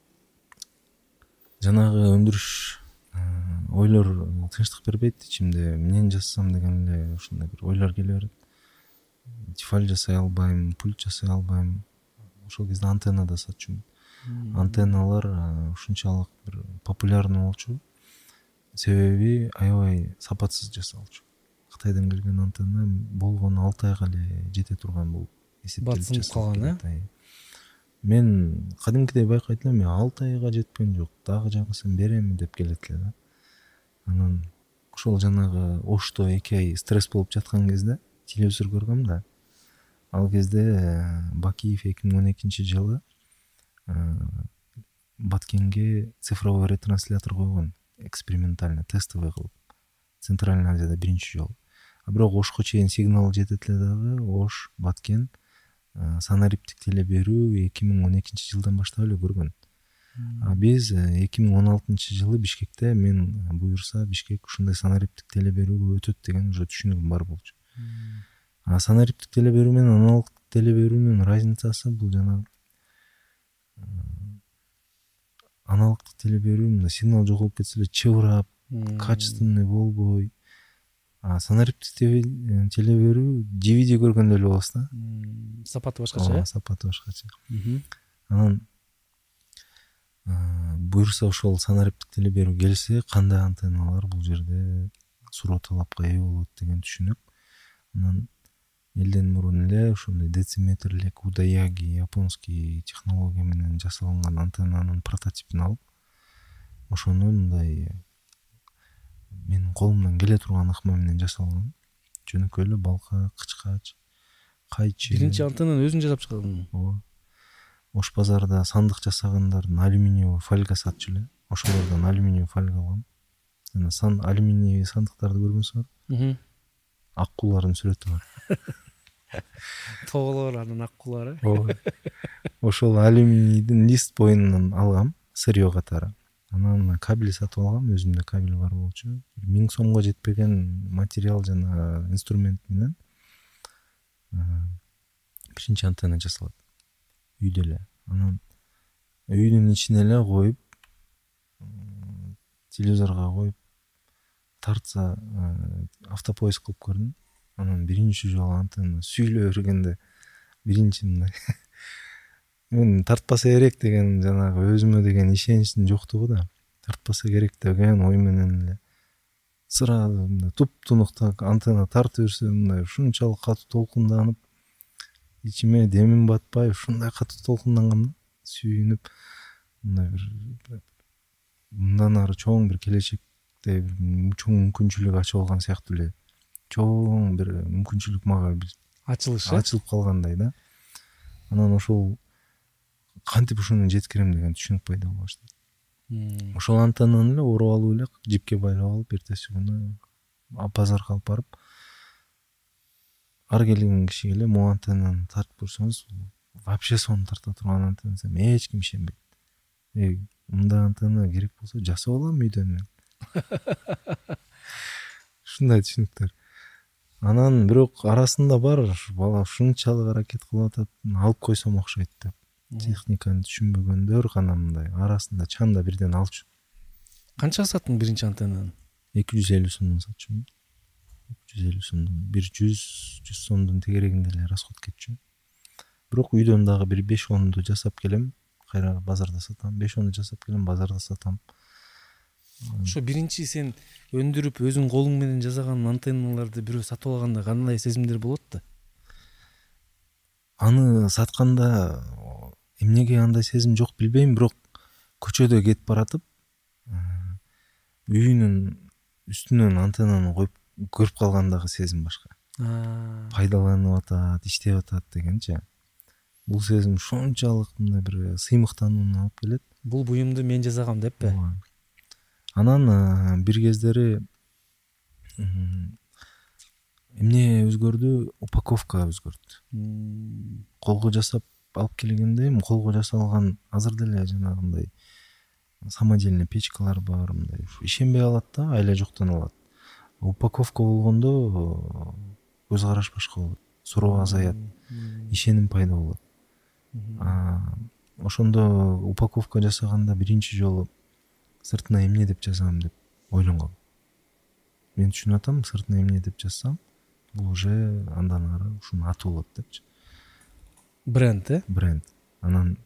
жанагы өндүрүш ойлор тынчтык бербейт ичимде. Эмнени жасасам деген эле ушундай бир ойлор келе берет. Тефаль жасай албайм, пульт жасай албайм. Ошол кезде антенна да сатчумун. Антенналар ушунчалык бир популярный болчу. Себеби аябай сапатсыз жасалчу. Кытайдан келген антенна болгону алты айга эле жете турган болуп эсептелип калган, э? Мен кадимкидей байкайт элем, алты айга жеткен жок, дагы жаңысын берем деп келет эле да. Анан ошол жанагы Ошто эки ай стресс болуп жаткан кезде телевизор көргөм да. Ал кезде Бакиев эки миң он экинчи жылы Баткенге цифровой ретранслятор койгон, экспериментально, тестовый кылып. Центральный Азияда биринчи жолу. А бирок Ошко чейин сигнал жетет эле дагы. Ош, Баткен санариптик теле берүү эки миң он экинчи жылдан баштап эле көргөн. А биз эки миң он алтынчы жылы Бишкекте мен буюрса Бишкек ушундай санариптик теле берүүгө өтөт деген уже түшүнүгүм бар болчу. А санариптик теле берүү менен аналогтук теле берүүнүн разницасы бул жана аналогтук теле берүү сигнал жоголуп кетсе эле чыбырап, качественный болбой. А санариптик теле берүү ди ви ди көргөндөй эле болосуз да. Сапаты башкача, э? Сапаты башкача. Анан буюрса ошол санариптик теле берүү келсе, кандай антенналар бул жерде суроо талапка ээ болот деген түшүнүк. Анан элден мурун эле ошондой дециметрлик Удаяги японский технология менен жасалган антеннанын прототипин алып, ошону мындай менин колумдан келе турган ыкма менен жасалган. Жөнөкөй эле балка, кычкач, кайчы. Биринчи антеннаны өзүң жасап чыгардың? Ооба. Ош базарда сандык жасагандардын алюминиевый фольга сатчу эле. Ошолордон алюминиевый фольга алгам. Жана сан алюминиевый сандыктарды көргөнсүңөр? Ак куулардын сүрөтү бар. Тоголор анын ак куулары. Ооба. Ошол алюминийдин лист боюнан алгам, сырьё катары. Анан кабель сатып алгам, өзүмдө кабель бар болчу. миң сомго жетпеген материал жана инструмент менен биринчи антенна жасалат. Үйдө эле. Анан үйдүн ичине эле коюп, телевизорго коюп, тартса автопоиск кылып көрдүм. анан биринчи жолу антенна сүйлөй бергенде биринчи мындай мен тартпаса керек деген жанагы өзүмө деген ишеничтин жоктугу да тартпаса керек деген ой менен эле сразу мындай туп-тунукта антенна тартып берсе мындай ушунчалык катуу толкунданып ичиме демим батпай ушундай катуу толкундангам да сүйүнүп мындай бир мындан ары чоң бир келечекте чоң мүмкүнчүлүк ачып алган сыяктуу эле чоң бир мүмкүнчүлүк мага ачылыш ачылып калгандай да анан ошол кантип ушуну жеткирем деген түшүнүк пайда боло баштады. Ошол антеннаны эле уруп алып эле жипке байлап алып эртеси күнү базарга алып барып ар келген кишиге эле могу антеннаны тартып көрсөңүз вообще сонун тарта турган антенна десем эч ким ишенбейт. Эй, мындай антенна керек болсо жасап алам үйдөн мен. Ушундай түшүнүктөр. Анан бирок арасында бар бала ушунчалык аракет кылып атат, алып койсом окшойт деп. Техниканы түшүнбөгөндөр гана мындай арасында чанда бирден алчу. Канчага саттың биринчи антеннаны? эки жүз элүү сомдон сатчумун. эки жүз элүү сомдон бир жүз жүз сомдун тегерегинде эле расход кетчү. Бирок үйдөн дагы бир беш онду жасап келем, кайра базарда сатам. беш онду жасап келем, базарда сатам. Ошо биринчи сен өндүрүп өзүң колуң менен жасаган антенналарды бирөө сатып алганда кандай сезимдер болот да? Аны сатканда эмнеге андай сезим жок билбейм, бирок көчөдө кетип баратып үйүнүн үстүнөн антеннаны коюп көрүп калгандагы сезим башка. Пайдаланып атат, иштеп атат дегенчи. Бул сезим ушунчалык мындай бир сыймыктанууну алып келет. Бул буюмду мен жасагам деппи? Анан бир кездери эмне өзгөрдү? Упаковка өзгөрдү. Колго жасап алып келгенде колго жасалган азыр деле жанагындай самодельный печкалар бар, мындай ишенбей алат да, айла жоктон алат. Упаковка болгондо көз караш башка болот, суроо азаят, ишеним пайда болот. Ошондо упаковка жасаганда биринчи жолу сыртына эмне деп жазам деп ойлонгом. Мен түшүнүп атам, сыртына эмне деп жазсам, бул уже андан ары ушунун аты болот депчи. Бренд, э? Бренд. Анан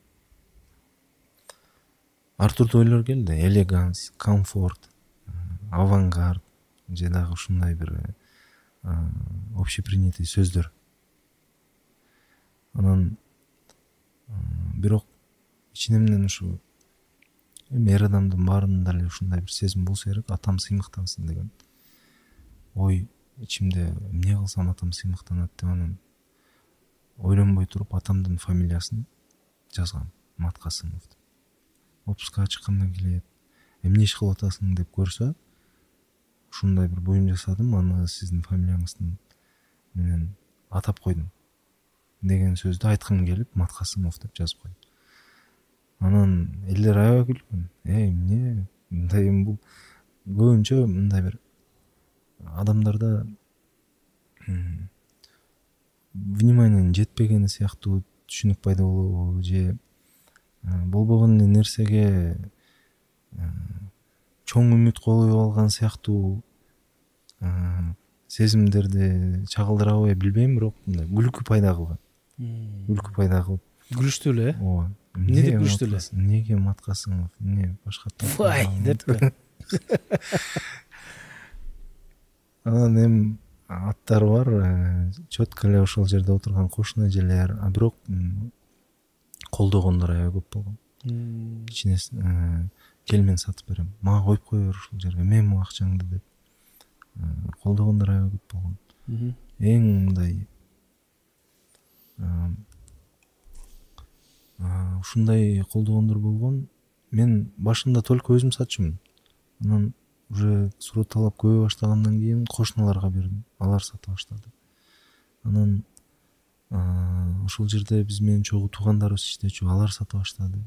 ар түрдүү ойлор келди. Элеганс, комфорт, авангард, же дагы ушундай бир общепринятый сөздөр. Анан бирок ичинемден ушу эр адамдын баарында эле ушундай бир сезим болсо керек, атам сыймыктансын деген ой ичимде, эмне кылсам атам сыймыктанат деп анан ойлонбой туруп атамдын фамилиясын жазгам, Маткасымов деп. Отпускка чыкканда келет, эмне иш кылып атасың деп көрсө, ушундай бир буюм жасадым, аны сиздин фамилияңыздын менен атап койдум деген сөздү айткым келип, Маткасымов деп жазып койдум. Анан элдер аябай күлгөн. Эй, эмне? Мындай бул көбүнчө мындай бир адамдарда вниманиянын жетпегени сыяктуу түшүнүк пайда болобу, же болбогон нерсеге чоң үмүт коюп алган сыяктуу сезимдерди чагылдырабы билбейм, бирок мындай күлкү пайда кылган. Күлкү пайда кылып. Күлүштү эле, э? Ооба. Эмне деп күлүштү эле? Эмнеге Маткасымов, эмне башка Вай деппи? Анан эми аттар бар, чөткө эле ошол жерде отурган кошуна эжелер, а бирок колдогондор аябай көп болгон. Кичине келмен сатып берем. Мага коюп кое бер ушул жерге, мен могу акчаңды деп. Колдогондор аябай көп болгон. Эң мындай ушундай колдогондор болгон. Мен башында только өзүм сатчумун. Анан уже суроо талап көбөй баштагандан кийин кошуналарга бердим. Алар сата баштады. Анан ошол жерде биз менен чогуу туугандарыбыз иштечү, алар сата баштады.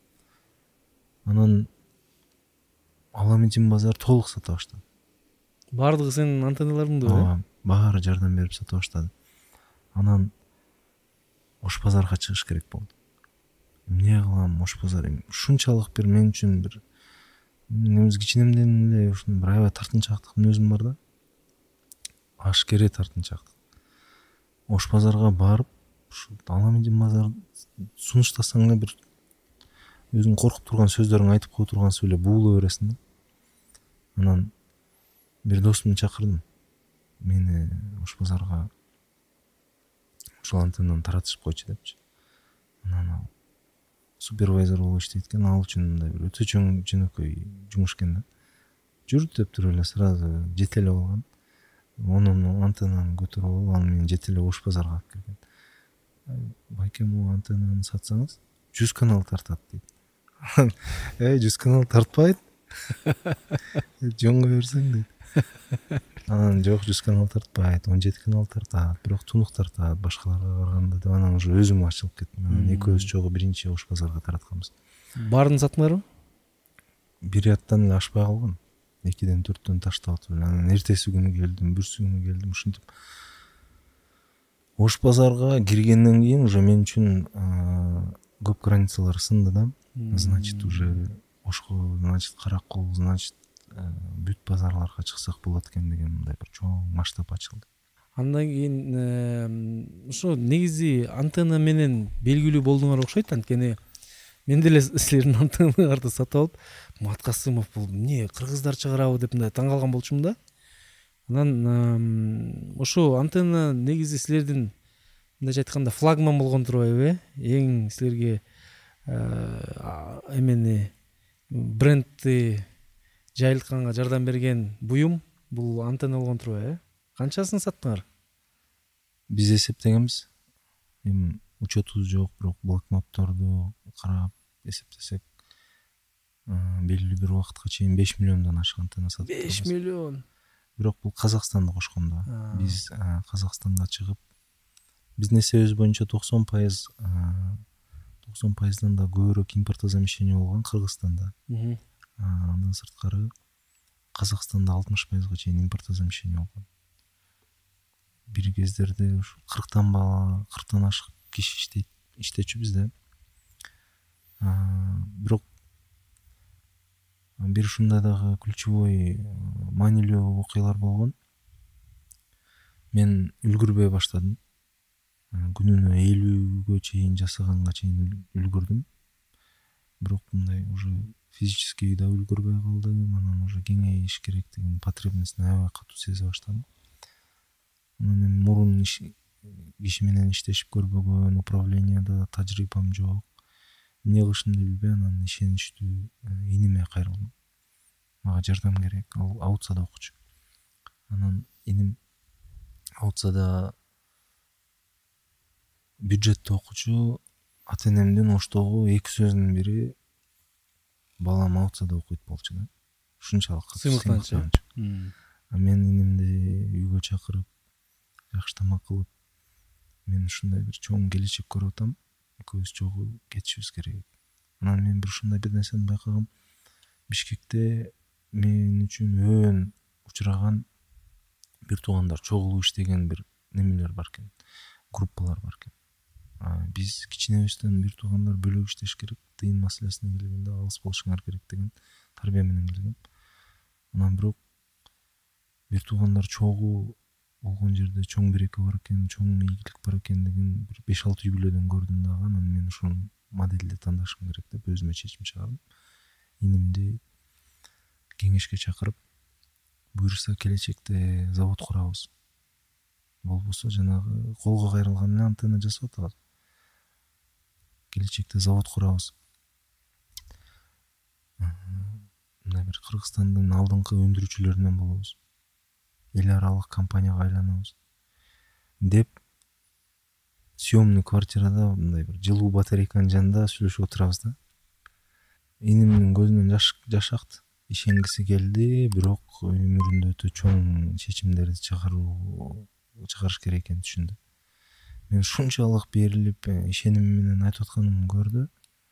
Анан Аламедин базар толук сата баштады. Бардыгы сенин антенналарыңды, э? Ооба, баары жардам берип сата баштады. Анан Ош базарга чыгыш керек болду. Эмне кылам, Ош базар ушунчалык бир мен үчүн бир немиз кичинемден эле ушун бир аябай тартынчаактык мүнөзүм бар да. Ашкере тартынчаактык. Ош базарга барып ушул Аламедин базар сунуштасаң эле бир өзүң коркуп турган сөздөрүңдү айтып кое тургансып эле буулай бересиң да. Анан бир досумду чакырдым, мени Ош базарга ушул антеннаны таратышып койчу депчи. Анан ал супервайзер болуп иштейт экен, ал үчүн мындай бир өтө чоң жөнөкөй жумуш экен да. Жүр деп туруп эле сразу жете эле алган. Онун антеннаны көтөрүп алып, аны менен жете эле Ош базарга алып келген. Байке, могу антеннаны сатсаңыз жүз канал тартат дейт. Эй, жүз канал тартпайт. Жонго берсең дейт. Анан жок, жүз канал тартпайт, он жети канал тартат, бирок тунук тартат башкаларга караганда деп анан уже өзүм ачылып кеттим. Анан экөөбүз чогуу биринчи Ош базарга таратканбыз. Баарын саттыңарбы? Бир ряттан эле ашпай калган. экиден төрттөн таштап атып эле. Анан эртеси күнү келдим, бүрсү күнү келдим. Ушинтип Ош базарга киргенден кийин уже мен үчүн көп границалар сынды да. Значит, уже Ошко, значит, Каракол, значит, бүт базарларга чыксак болот экен деген мындай бир чоң масштаб ачылды. Андан кийин ошо негизи антенна менен белгилүү болдуңар окшойт, анткени мен деле силердин антенналарды сатып алып, Маткасымов бул эмне кыргыздар чыгарабы деп мындай таң калган болчумун да. Анан ошо антенна негизи силердин мындайча айтканда флагман болгон турбайбы, э? Эң силерге эмени брендти жайылтканга жардам берген буюм бул антенна болгон турбайбы, э? Канчасын саттыңар? Биз эсептегенбиз. Эми учетубуз жок, бирок блокнотторду карап эсептесек, белгилүү бир убакытка чейин беш миллиондон ашык антенна сатып беш миллион. Бирок бул Казакстанды кошкондо. Биз Казакстанга чыгып, биздин эсебибиз боюнча токсон пайыз токсон пайыздан да көбүрөөк импортозамещение болгон Кыргызстанда. Андан сырткары Казакстанда алтымыш пайызга чейин импортозамещение болгон. Бир кездерде ушу кырктан бала, кырктан ашык киши иштейт, иштечүбүз да. Бирок бир ушундай дагы ключевой маанилүү окуялар болгон. Мен үлгүрбөй баштадым. Күнүнө элүүгө чейин жасаганга чейин үлгүрдүм. Бирок мындай уже физически да үлгүрбөй калдым. Анан уже кеңейиш керектигин, потребностун аябай катуу сезе баштадым. Анан эми мурун киши менен иштешип көрбөгөн, управленияда тажрыйбам жок. Эмне кылышымды билбей, анан ишеничтүү иниме кайрылдым. Мага жардам керек. Ал Аутсада окучу. Анан иним Аутсада бюджетте окучу. Ата-энемдин Оштогу эки сөзүнүн бири балам Аутсада окуйт болчу да. Ушунчалык сыймыктанчы. А мен инимди үйгө чакырып, жакшы тамак кылып, мен ушундай бир чоң келечек көрүп атам. Экөөбүз чогуу кетишибиз керек. Анан мен бир ушундай бир нерсени байкагам. Бишкекте мен үчүн өөн учураган бир туугандар чогулуп иштеген бир немелер бар экен, группалар бар экен. Биз кичинебизден бир туугандар бөлөк иштеш керек, тыйын маселесине келгенде алыс болушуңар керек деген тарбия менен келгем. Анан бирок бир туугандар чогуу болгон жерде чоң береке бар экен, чоң ийгилик бар экен деген бир беш алты юбилейден көрдүм дагы. Анан мен ушул моделди тандашым керек деп өзүмө чечим чыгардым. Инимди кеңешке чакырып, буюрса келечекте завод курабыз. Болбосо жанагы колго кайрылган эле антенна жасап атабыз. Келечекте завод курабыз. Мына бир Кыргызстандын алдыңкы өндүрүүчүлөрүнөн болобуз. Эл аралык компанияга айланабыз деп съемный квартирада мындай бир жылуу батарейканын жанында сүйлөшүп отурабыз да. Инимдин көзүнөн жаш жаш акты. Ишенгиси келди, бирок өмүрүндө өтө чоң чечимдерди чыгаруу чыгарыш керек экенин түшүндү. Мен ушунчалык берилип, ишеним менен айтып атканымды көрдү.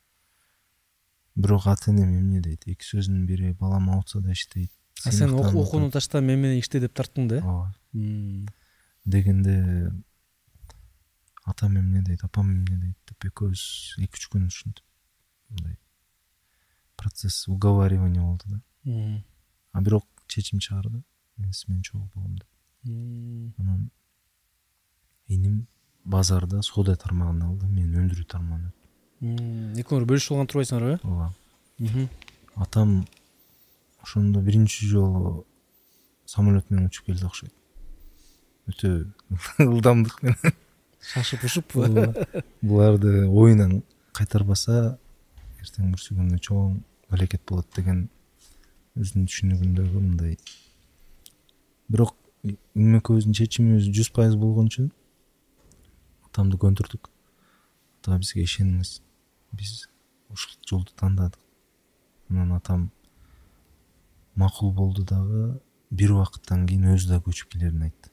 Бирок ата-энем эмне дейт? Эки сөзүнүн бири балам Аутсада иштейт. А сен окууну ташта мен менен иште деп тарттың да? Ооба. Дегенде атам эмне дейт, апам эмне дейт деп экөөбүз эки үч күн ушинтип мындай процесс уговаривания болду да. А бирок чечим чыгарды. Мен сиз менен чогуу болом деп. Анан ийиним базарда соода тармагын алды, мен өндүрүү тармагын өттүм. Экөөңөр бөлүшүп алган турбайсыңарбы? Ооба. Атам ошондо биринчи жолу самолет менен учуп келди окшойт. Өтө ылдамдык менен шашып ушуп буларды оюнан кайтарбаса эртең бүрсү күнү чоң балекет болот деген өзүнүн түшүнүгүндөгү мындай. Бирок эми экөөбүздүн чечимибиз жүз пайыз болгон үчүн атамды көндүрдүк. Ата бизге ишениңиз, биз ушул жолду тандадык. Анан атам макул болду дагы бир убакыттан кийин өзү да көчүп келерин айтты.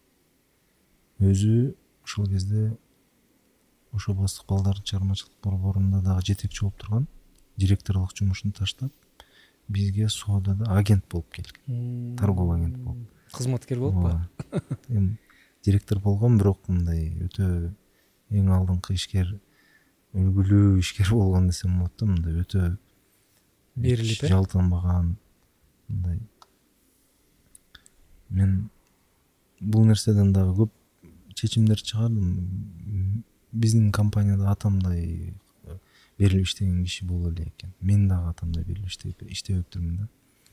Өзү ошол кезде ошо бастык балдардын чыгармачылык борборунда дагы жетекчи болуп турган, директорлук жумушун таштап бизге соодада агент болуп келген. Торговый агент болуп. Кызматкер болуппу? Эми директор болгон, бирок мындай өтө эң алдыңкы ишкер, үлгүлүү ишкер болгон десем болот да, мындай өтө берилип, жалтанбаган мындай. Мен бул нерседен дагы көп чечимдер чыгардым. Биздин компанияда атамдай берилип иштеген киши боло эле экен. Мен дагы атамдай берилип иштебептирмин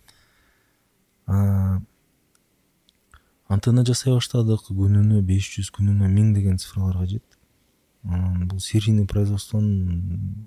да. Антенна жасай баштадык. Күнүнө беш жүз, күнүнө миң деген цифраларга жеттик. Анан бул серийный производствонун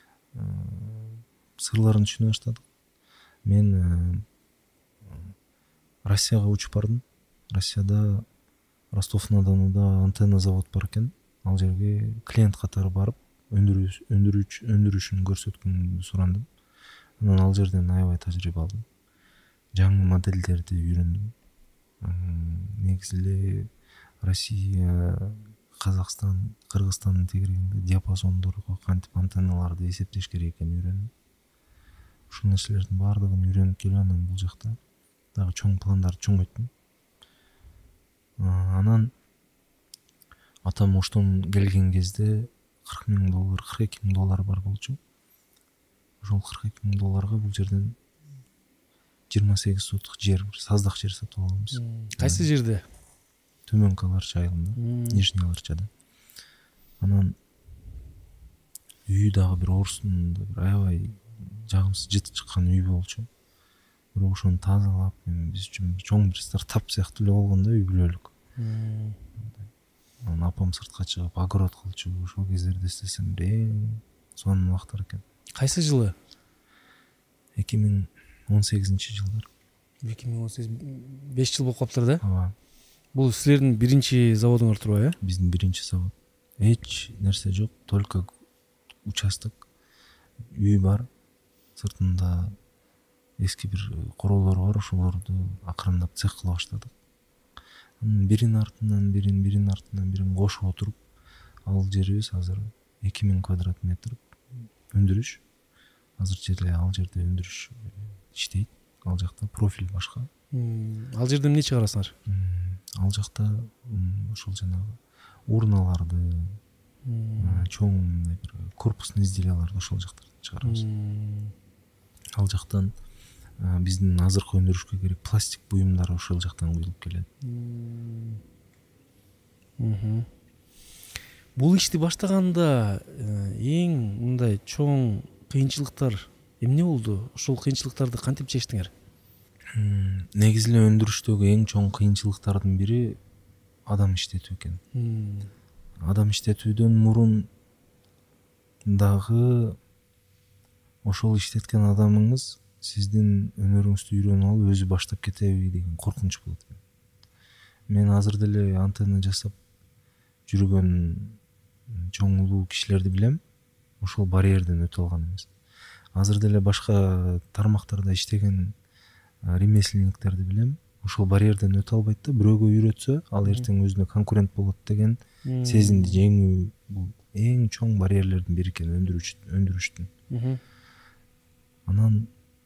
сырларын түшүнө баштадык. Мен Россияга учуп бардым. Россияда Ростов-на-Донуда антенна завод бар экен. Ал жерге клиент катары барып, өндүрүүчүн көрсөткөнгү сурандым. Анан ал жерден аябай тажрыйба алдым. Жаңы модельдерди үйрөндүм. Негизи эле Россия, Казакстан, Кыргызстандын тегерегинде диапазондорго кантип антенналарды эсептеш керек экенин үйрөндүм. Ушул нерселердин баардыгын үйрөнүп келип анан бул жакта дагы чоң пландарды чоңойттум. Анан атам оштон келген кезде кырк миң доллар, кырк эки миң доллар бар болчу. Ошол кырк эки миң долларга бул жерден жыйырма сегиз соток жер, саздак жер сатып алганбыз. Кайсы жерде? Төмөнкү Аларча айылында, Нижний Аларчада. Анан үйү дагы бир орустун бир аябай жагымсыз жыты чыккан үй болчу. Бирок ошону тазалап, биз үчүн чоң бир стартап сыяктуу эле болгон да, үй бүлөлүк. Анан апам сыртка чыгып огород кылчу. Ошол кездерде эстесем эң сонун убактар экен. Кайсы жылы? эки миң он сегизинчи жылдар. эки миң он сегиз, беш жыл болуп калыптыр да? Ооба. Бул силердин биринчи заводуңар турбайбы, э? Биздин биринчи завод. Эч нерсе жок, только участок, үй бар. Сыртында эски бир короолор бар, ошолорду акырындап цех кыла баштадык. Анан бирин артынан бирин, бирин артынан бирин кошуп отуруп, ал жерибиз азыр эки миң квадрат метр өндүрүш. Азырча эле ал жерде өндүрүш иштейт. Ал жакта профиль башка. Ал жерде эмне чыгарасыңар? Ал жакта ошол жанагы урналарды, чоң бир корпусный изделияларды ошол жактан чыгарабыз. Ал жактан биздин азыркы өндүрүшкө керек пластик буюмдар ошол жактан куюлуп келет. Бул ишти баштаганда эң мындай чоң кыйынчылыктар эмне болду? Ошол кыйынчылыктарды кантип чечтиңер? Негизи эле өндүрүштөгү эң чоң кыйынчылыктардын бири адам иштетүү экен. Адам иштетүүдөн мурун дагы ошол иштеткен адамыңыз сиздин өнөрүңүздү үйрөнүп алып өзү баштап кетеби деген коркунуч болот экен. Мен азыр деле антенна жасап жүргөн чоң улуу кишилерди билем. Ошол барьерден өтө алган эмес. Азыр деле башка тармактарда иштеген ремесленниктерди билем. Ошол барьерден өтө албайт да, бирөөгө үйрөтсө, ал эртең өзүнө конкурент болот деген сезимди жеңүү бул эң чоң барьерлердин бири экен өндүрүштүн. Анан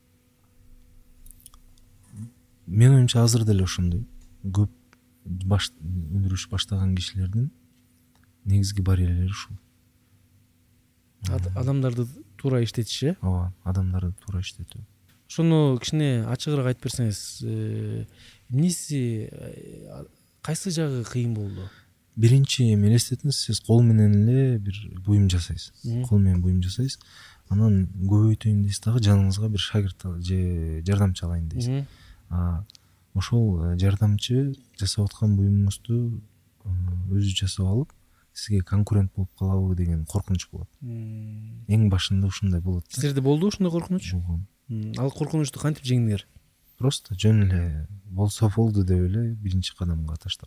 мен оюмча азыр деле ошондой көп баш өндүрүш баштаган кишилердин негизги барьерлери ушул. Адамдарды туура иштетиш, э? Ооба, адамдарды туура иштетүү. Ошону кичине ачыгыраак айтып берсеңиз, эмнеси, кайсы жагы кыйын болду? биринчи эми элестетиңиз, сиз кол менен эле бир буюм жасайсыз, кол менен буюм жасайсыз, анан көбөйтөйүн дейсиз дагы жаныңызга бир шагирт же жардамчы алайын дейсиз. Ошол жардамчы жасап аткан буюмуңузду өзү жасап алып сизге конкурент болуп калабы деген коркунуч болот. Эң башында ушундай болот. Силерде болду ушундай коркунуч? Ал коркунучту кантип жеңдиңер? Просто жөн эле болсо болду деп эле биринчи кадамга таштап.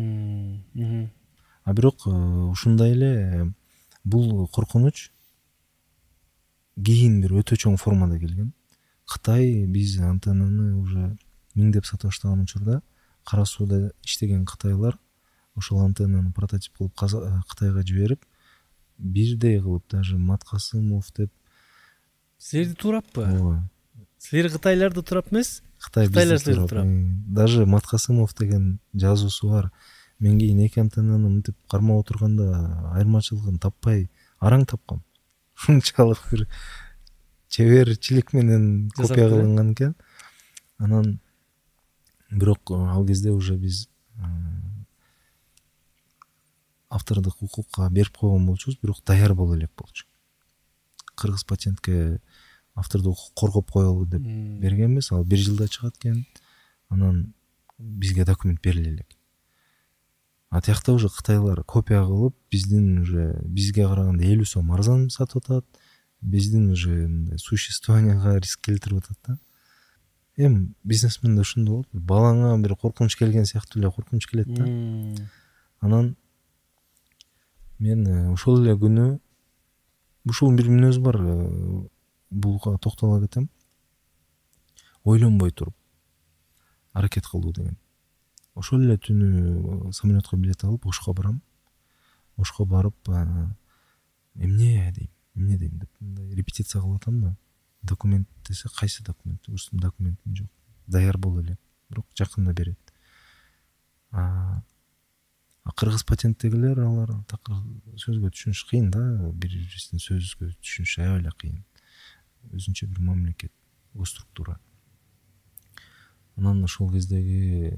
А бирок ушундай эле бул коркунуч кийин бир өтө чоң формада келген. Кытай биз антеннаны уже миңдеп сата баштаган учурда Кара сууда иштеген кытайлар ошол антеннаны прототип кылып Кытайга жиберип, бирдей кылып даже Маткасымов деп. Силерди туураппы? Ооба. Силер кытайларды туурап эмес? Кытайлар силерди туурап. Даже Маткасымов деген жазуусу бар. Мен кийин эки антеннаны мынтип кармап отурганда айырмачылыгын таппай араң тапкам. Ушунчалык бир чеберчилик менен копия кылынган экен. Анан бирок ал кезде уже биз автордук укукка берип койгон болчубуз, бирок даяр боло элек болчу. Кыргыз патентке автордук укук коргоп коелу деп бергенбиз, ал бир жылда чыгат экен. Анан бизге документ бериле элек. А тиякта уже кытайлар копия кылып, биздин уже бизге караганда элүү сом арзан сатып атат. Биздин уже существованияга риск келтирип атат да. Эми бизнесменде ушундай болот. Балаңа бир коркунуч келген сыяктуу эле коркунуч келет да. Анан мен ошол эле күнү ушул бир мүнөз бар, буга токтоло кетем. Ойлонбой туруп аракет кылуу деген. Ошол эле түнү самолетко билет алып Ошко барам. Ошко барып, эмне дейм, эмне дейм деп репетиция кылып атам да. Документ десе, кайсы документ? Ушул документим жок. Даяр боло элек, бирок жакында берет. А кыргыз патенттегилер, алар такыр сөзгө түшүнүш кыйын да, бири-бирисинин сөзгө түшүнүш аябай эле кыйын. Өзүнчө бир мамлекет, госструктура. Анан ошол кездеги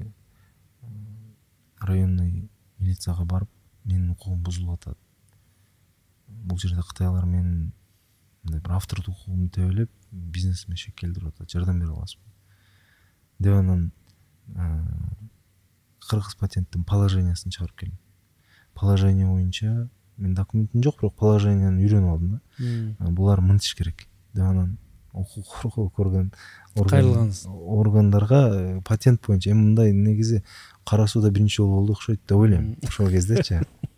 районный милицияга барып, менин укугум бузулуп атат. Бул жерде кытайлар менин бир автордук укугумду тебелеп, бизнесиме шек келтирип атат, жардам бере аласызбы деп. Анан кыргыз патенттин положениясын чыгарып келдим. Положение боюнча мен документим жок, бирок положенияны үйрөнүп алдым да. Булар мынтыш керек деп. Анан укук коргоо көргөн органдарга патент боюнча эми мындай негизи Кара сууда биринчи жолу болду окшойт деп ойлойм. Ошол кездечи.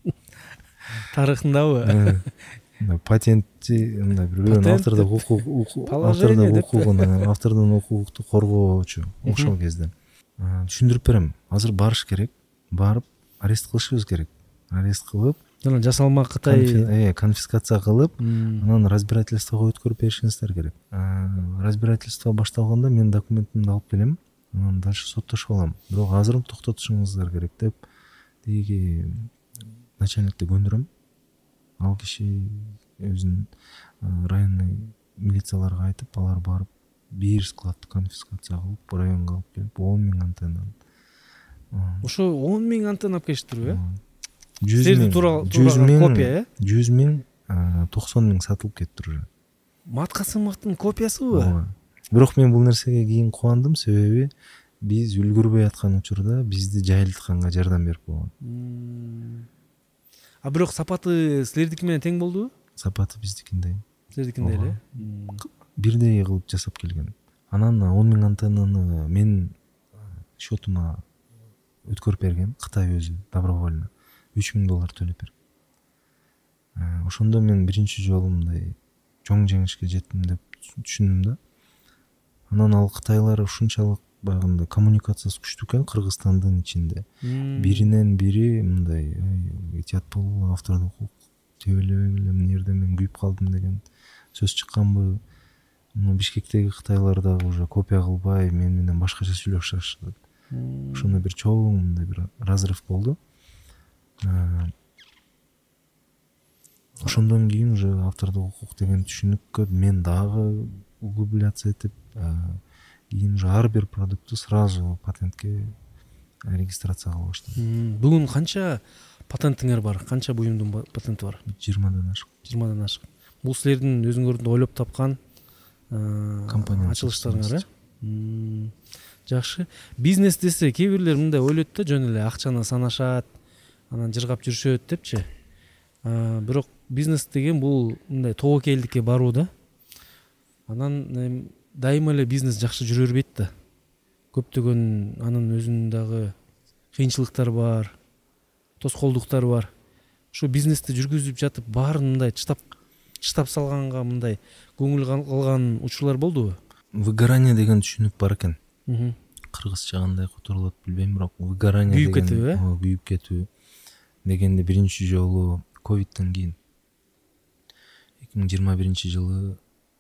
Тарыхындабы? Патентти мындай бир автордук укук, автордук укугун, автордун укукту коргоочу ошол кезде. Түшүндүрүп берем. Азыр барыш керек. Барып арест кылышыбыз керек. Арест кылып, жана жасалма Кытай конфискация кылып, анан разбирательствого өткөрүп беришиңиздер керек. Разбирательство башталганда мен документимди алып келем. Анан дальше соттошуп алам. Бирок азыр токтотушуңуздар керек деп тиги начальникти көндүрөм. Ал киши өзүнүн районный милицияларга айтып, алар барып бир складты конфискация кылып, районго алып келип, он миң антенна. Ошо он миң антенна алып келиштирби? жүз миң копия, э? жүз миң, токсон миң сатылып кетти уже. Маткасымовдун копиясыбы? Бирок мен бул нерсеге кийин кубандым, себеби биз үлгүрбөй аткан учурда бизди жайылтканга жардам берип койгон. А бирок сапаты силердики менен тең болдубу? Сапаты биздикиндей. Силердикиндей эле? Бирдей кылып жасап келген. Анан он миң антеннаны мен счетума өткөрүп берген, Кытай өзү добровольно үч миң доллар төлөп берген. Ошондо мен биринчи жолу мындай чоң жеңишке жеттим деп түшүндүм да. Анан ал кытайлар ушунчалык баягындай коммуникациясы күчтүү экен Кыргызстандын ичинде. Биринен бири мындай этият бол, автордук укук тебелебегиле, эмне жерде мен күйүп калдым деген сөз чыкканбы. Бишкектеги кытайлар дагы уже копия кылбай мен менен башкача сүйлөшүп башташты. Ошондой бир чоң мындай бир разрыв болду. Ошондон кийин уже автордук укук деген түшүнүккө мен дагы углубляться этип, кийин уже ар бир продуктты сразу патентке регистрация кыла баштадым. Бүгүн канча патентиңер бар? Канча буюмдун патенти бар? жыйырмадан ашык. жыйырмадан ашык. Бул силердин өзүңөрдүн ойлоп тапкан компания ачылыштарыңар, э? Жакшы. Бизнес десе кээ бирлер мындай ойлойт да, жөн эле акчаны санашат, анан жыргап жүрүшөт депчи. Бирок бизнес деген бул мындай тобокелдикке баруу да. Анан дайыма эле бизнес жакшы жүрө бербейт да. Көптөгөн анын өзүнүн дагы кыйынчылыктары бар, тоскоолдуктары бар. Ошо бизнести жүргүзүп жатып баарын мындай чыштап чыштап салганга мындай көңүл калган учурлар болдубу? Выгорание деген түшүнүк бар экен. Кыргызча кандай которулат билбейм, бирок выгорание күйүп кетүү, э? Күйүп кетүү дегенде биринчи жолу ковидтен кийин эки миң жыйырма биринчи жылы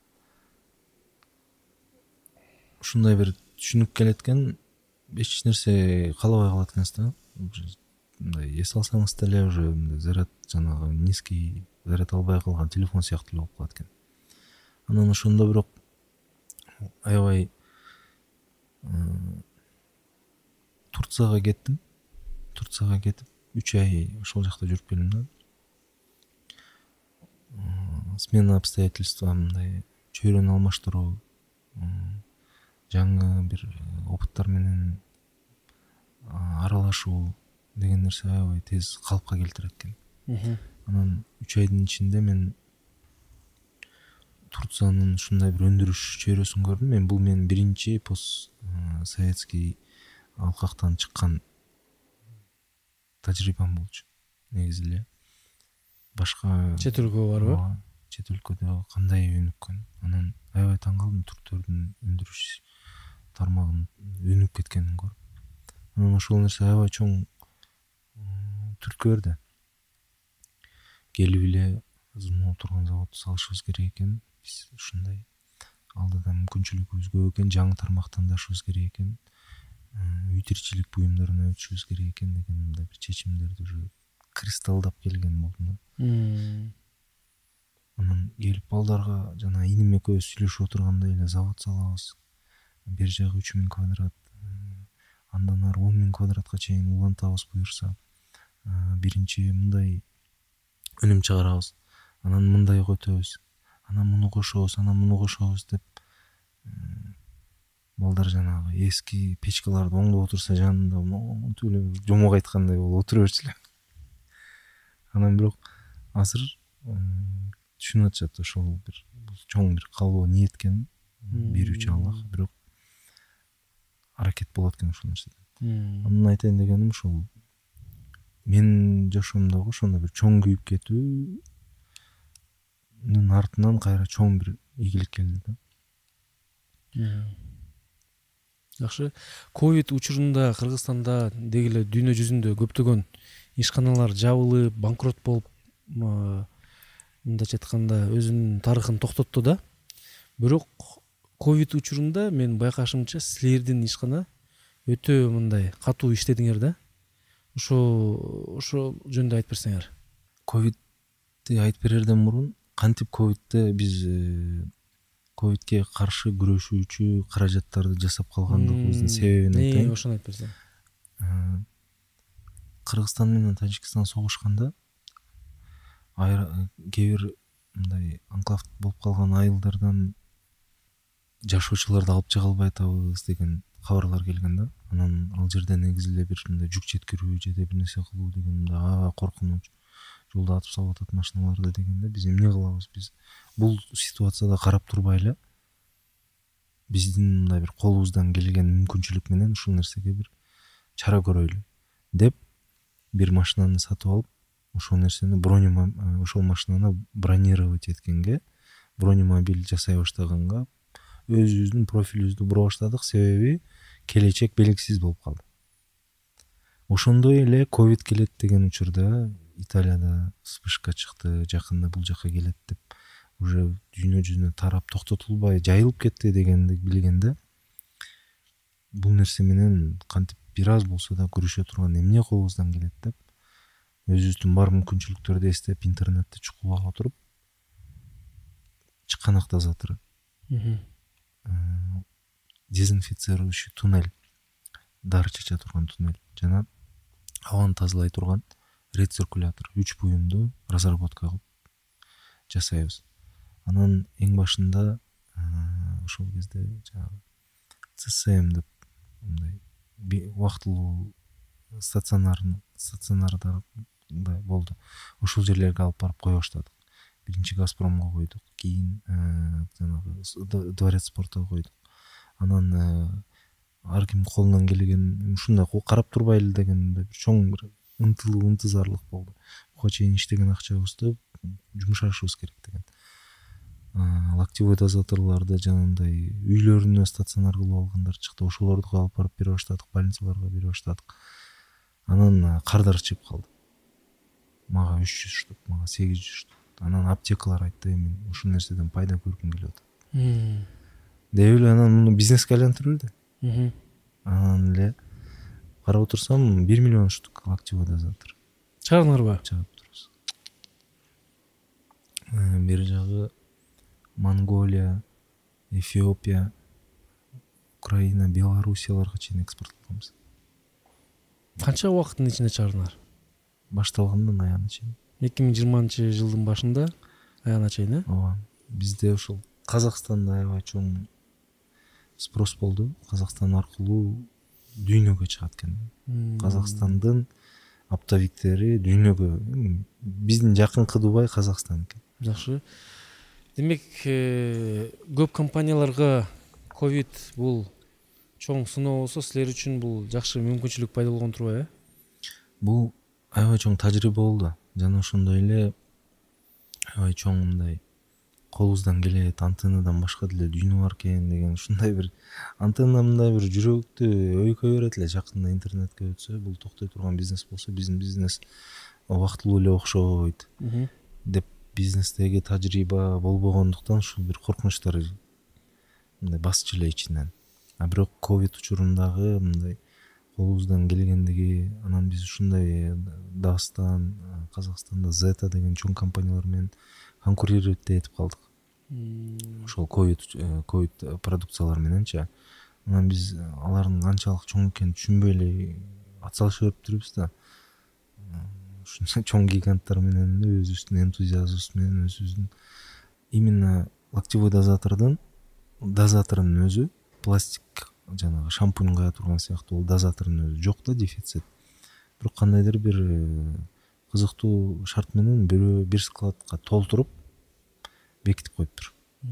ушундай бир түшүнүк келет экен. Эч нерсе каалабай калат экенсиз да. Мындай эс алсаңыз деле уже заряд жанагы низкий заряд албай калган телефон сыяктуу болуп калат экен. Анан ошондо бирок аябай Турцияга кеттим. Турцияга кетип үч ай ошол жакта жүрүп келдим да. Смена обстоятельства, мындай чөйрөнү алмаштыруу, жаңы бир опыттар менен аралашуу деген нерсе аябай тез калыпка келтирет экен. Анан үч айдын ичинде мен Турциянын ушундай бир өндүрүш чөйрөсүн көрдүм. Мен бул менин биринчи пост советский алкактан чыккан тажрыйбам болчу. Негизи эле башка чет өлкөгө барбы? Чет өлкөдө кандай өнүккөн. Анан аябай таң калдым түрктөрдүн өндүрүш тармагын өнүгүп кеткенин көрүп. Анан ошол нерсе аябай чоң түрткө берди. Келип эле азыр турган заводду салышыбыз керек экен. Биз ушундай алдыда мүмкүнчүлүгүбүз көп экен, жаңы тармактандашыбыз керек экен. Үй тиричилик буюмдарына өтүшүбүз керек экен деген мындай бир чечимдерди уже кристалдап келген болдум да. Анан келип балдарга жана иним экөөбүз сүйлөшүп отурганда эле завод салабыз. Бер жагы үч миң квадрат, андан ары он миң квадратка чейин улантабыз буюрса. Биринчи мындай өнүм чыгарабыз. Анан мындай өтөбүз. Анан муну кошобуз, анан муну кошобуз деп балдар жанагы эски печкаларды оңдоп отурса жанында монтип эле жомок айткандай болуп отура берчү эле. Анан бирок азыр түшүнүп атышат ошол бир чоң бир калоо ниет экен берүүчү Аллах, бирок аракет болот экен ошол нерседе. Анан айтайын дегеним ушул менин жашоомдогу ошондой бир чоң күйүп кетүүнүн артынан кайра чоң бир ийгилик келди да. Жакшы. Ковид учурунда Кыргызстанда деги эле дүйнө жүзүндө көптөгөн ишканалар жабылып, банкрот болуп, мындайча айтканда өзүнүн тарыхын токтотту да. Бирок ковид учурунда мен байкашымча силердин ишкана өтө мындай катуу иштедиңер да. Ошо ошо жөнүндө айтып берсеңер. Ковидти айтып берерден мурун кантип ковидте биз ковидке каршы күрөшүүчү каражаттарды жасап калгандыгыбыздын себебин айтайын. Ошону айтып берсең. Кыргызстан менен Тажикстан согушканда кээ бир мындай анклав болуп калган айылдардан жашоочуларды алып чыга албай атабыз деген кабарлар келген да. Анан ал жерде негизи эле бир мындай жүк жеткирүү же бир нерсе кылуу деген мындай аябай коркунуч, жолдо атып салып атат машиналарды дегенде биз эмне кылабыз? Биз бул ситуацияда карап турбай эле биздин мындай бир колубуздан келген мүмкүнчүлүк менен ушул нерсеге бир чара көрөйлү деп бир машинаны сатып алып, ошол нерсени бронемобиль ошол машинаны бронировать эткенге, бронемобиль жасай баштаганга өзүбүздүн профилибизди бура баштадык. Себеби келечек белгисиз болуп калды. Ошондой эле ковид келет деген учурда Италияда вспышка чыкты, жакында бул жака келет деп уже дүйнө жүзүнө тарап токтотулбай жайылып кетти дегенди билгенде бул нерсе менен кантип бир аз болсо да күрөшө турган эмне колубуздан келет деп өзүбүздүн бар мүмкүнчүлүктөрдү эстеп интернетти чукулап отуруп чыканак дозатору, дезинфицирующий туннель, дары чача турган туннель жана абаны тазалай турган рециркулятор үч буюмду разработка кылып жасайбыз. Анан эң башында ошол кезде жанагы ЦСМ деп мындай убактылуу стационар стационарда болду. Ошол жерлерге алып барып кое баштадык. Биринчи Газпромго койдук, кийин жанагы Дворец спортко койдук. Анан ар ким колунан келген ушундай карап турбай эле деген бир чоң бир ынтылуу ынтызарлык болду. Буга чейин иштеген акчабызды жумшашыбыз керек деген. Локтевой дозаторлорду жанагындай үйлөрүнө стационар кылып алгандар чыкты. Ошолорду алып барып бере баштадык, больницаларга бере баштадык. Анан кардар чыгып калды. Мага үч жүз штук, мага сегиз жүз штук. Анан аптекалар айтты, мен ушул нерседен пайда көргүм келип атат. Деп эле анан муну бизнеске айлантырып эле. Анан эле карап отурсам бир миллион штук локтевой дозатор. Чыгардыңарбы? Чыгып турбуз. Бери жагы Монголия, Эфиопия, Украина, Белоруссияларга чейин экспорт кылабыз. Канча убакыттын ичинде чыгардыңар? Башталгандан аягына чейин. эки миң жыйырманчы жылдын башында аягына чейин, э? Ооба. Бизде ушул Казакстанда аябай чоң спрос болду. Казакстан аркылуу дүйнөгө чыгат экен. Казакстандын оптовиктери дүйнөгө, биздин жакынкы Дубай Казакстан экен. Жакшы. Демек, көп компанияларга ковид бул чоң сыноо болсо, силер үчүн бул жакшы мүмкүнчүлүк пайда болгон турбайбы, э? Бул аябай чоң тажрыйба болду. Жана ошондой эле аябай чоң мындай колубуздан келет, антеннадан башка деле дүйнө бар экен деген ушундай бир антенна мындай бир жүрөктү өйкөй берет эле. Жакында интернетке өтсө, бул токтой турган бизнес болсо, биздин бизнес убактылуу эле окшойт деп бизнестеги тажрыйба болбогондуктан ушул бир коркунучтар мындай басчу эле ичинен. А бирок ковид учурундагы мындай колубуздан келгендиги, анан биз ушундай Дагыстан, Казакстанда Zeta деген чоң компаниялар менен конкурировать этип калдык. Ошол ковид ковид продукциялар мененчи. Анан биз алардын канчалык чоң экенин түшүнбөй эле атсалышып өтүрүбүз да. Ушунча чоң гиганттар менен өзүбүздүн энтузиазмыбыз менен өзүбүздүн именно локтевой дозатордун дозаторунун өзү пластик жанагы шампунь кая турган сыяктуу ол дозатордун өзү жок да, дефицит. Бирок кандайдыр бир кызыктуу шарт менен бирөө бир складка толтуруп бекитип коюптур.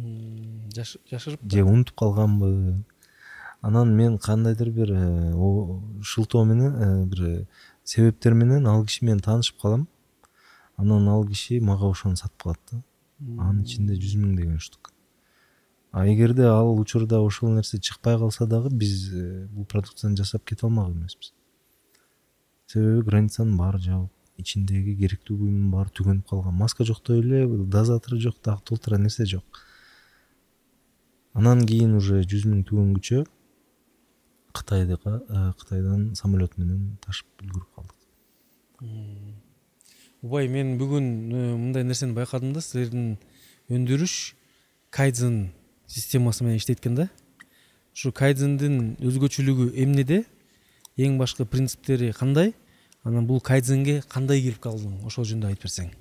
Жашырып же унутуп калганбы? Анан мен кандайдыр бир шылтоо менен бир себептер менен ал киши менен таанышып калам. Анан ал киши мага ошону сатып калат да. Анын ичинде жүз миң деген штук. А эгерде ал учурда ошол нерсе чыкпай калса дагы биз бул продукцияны жасап кете алмак эмеспиз. Себеби границанын баары жабык, ичиндеги керектүү буюмдун баары түгөнүп калган. Маска жоктой эле, дозатор жок, дагы толтура нерсе жок. Анан кийин уже жүз миң түгөнгүчө Кытайдыга Кытайдан самолет менен ташып үлгүрүп калдык. Убай, мен бүгүн мындай нерсени байкадым да, силердин өндүрүш кайдзен системасы менен иштейт экен да. Ушу кайдзендин өзгөчөлүгү эмнеде? Эң башкы принциптери кандай? Анан бул кайдзенге кандай кирип калдың? Ошол жөнүндө айтып берсең.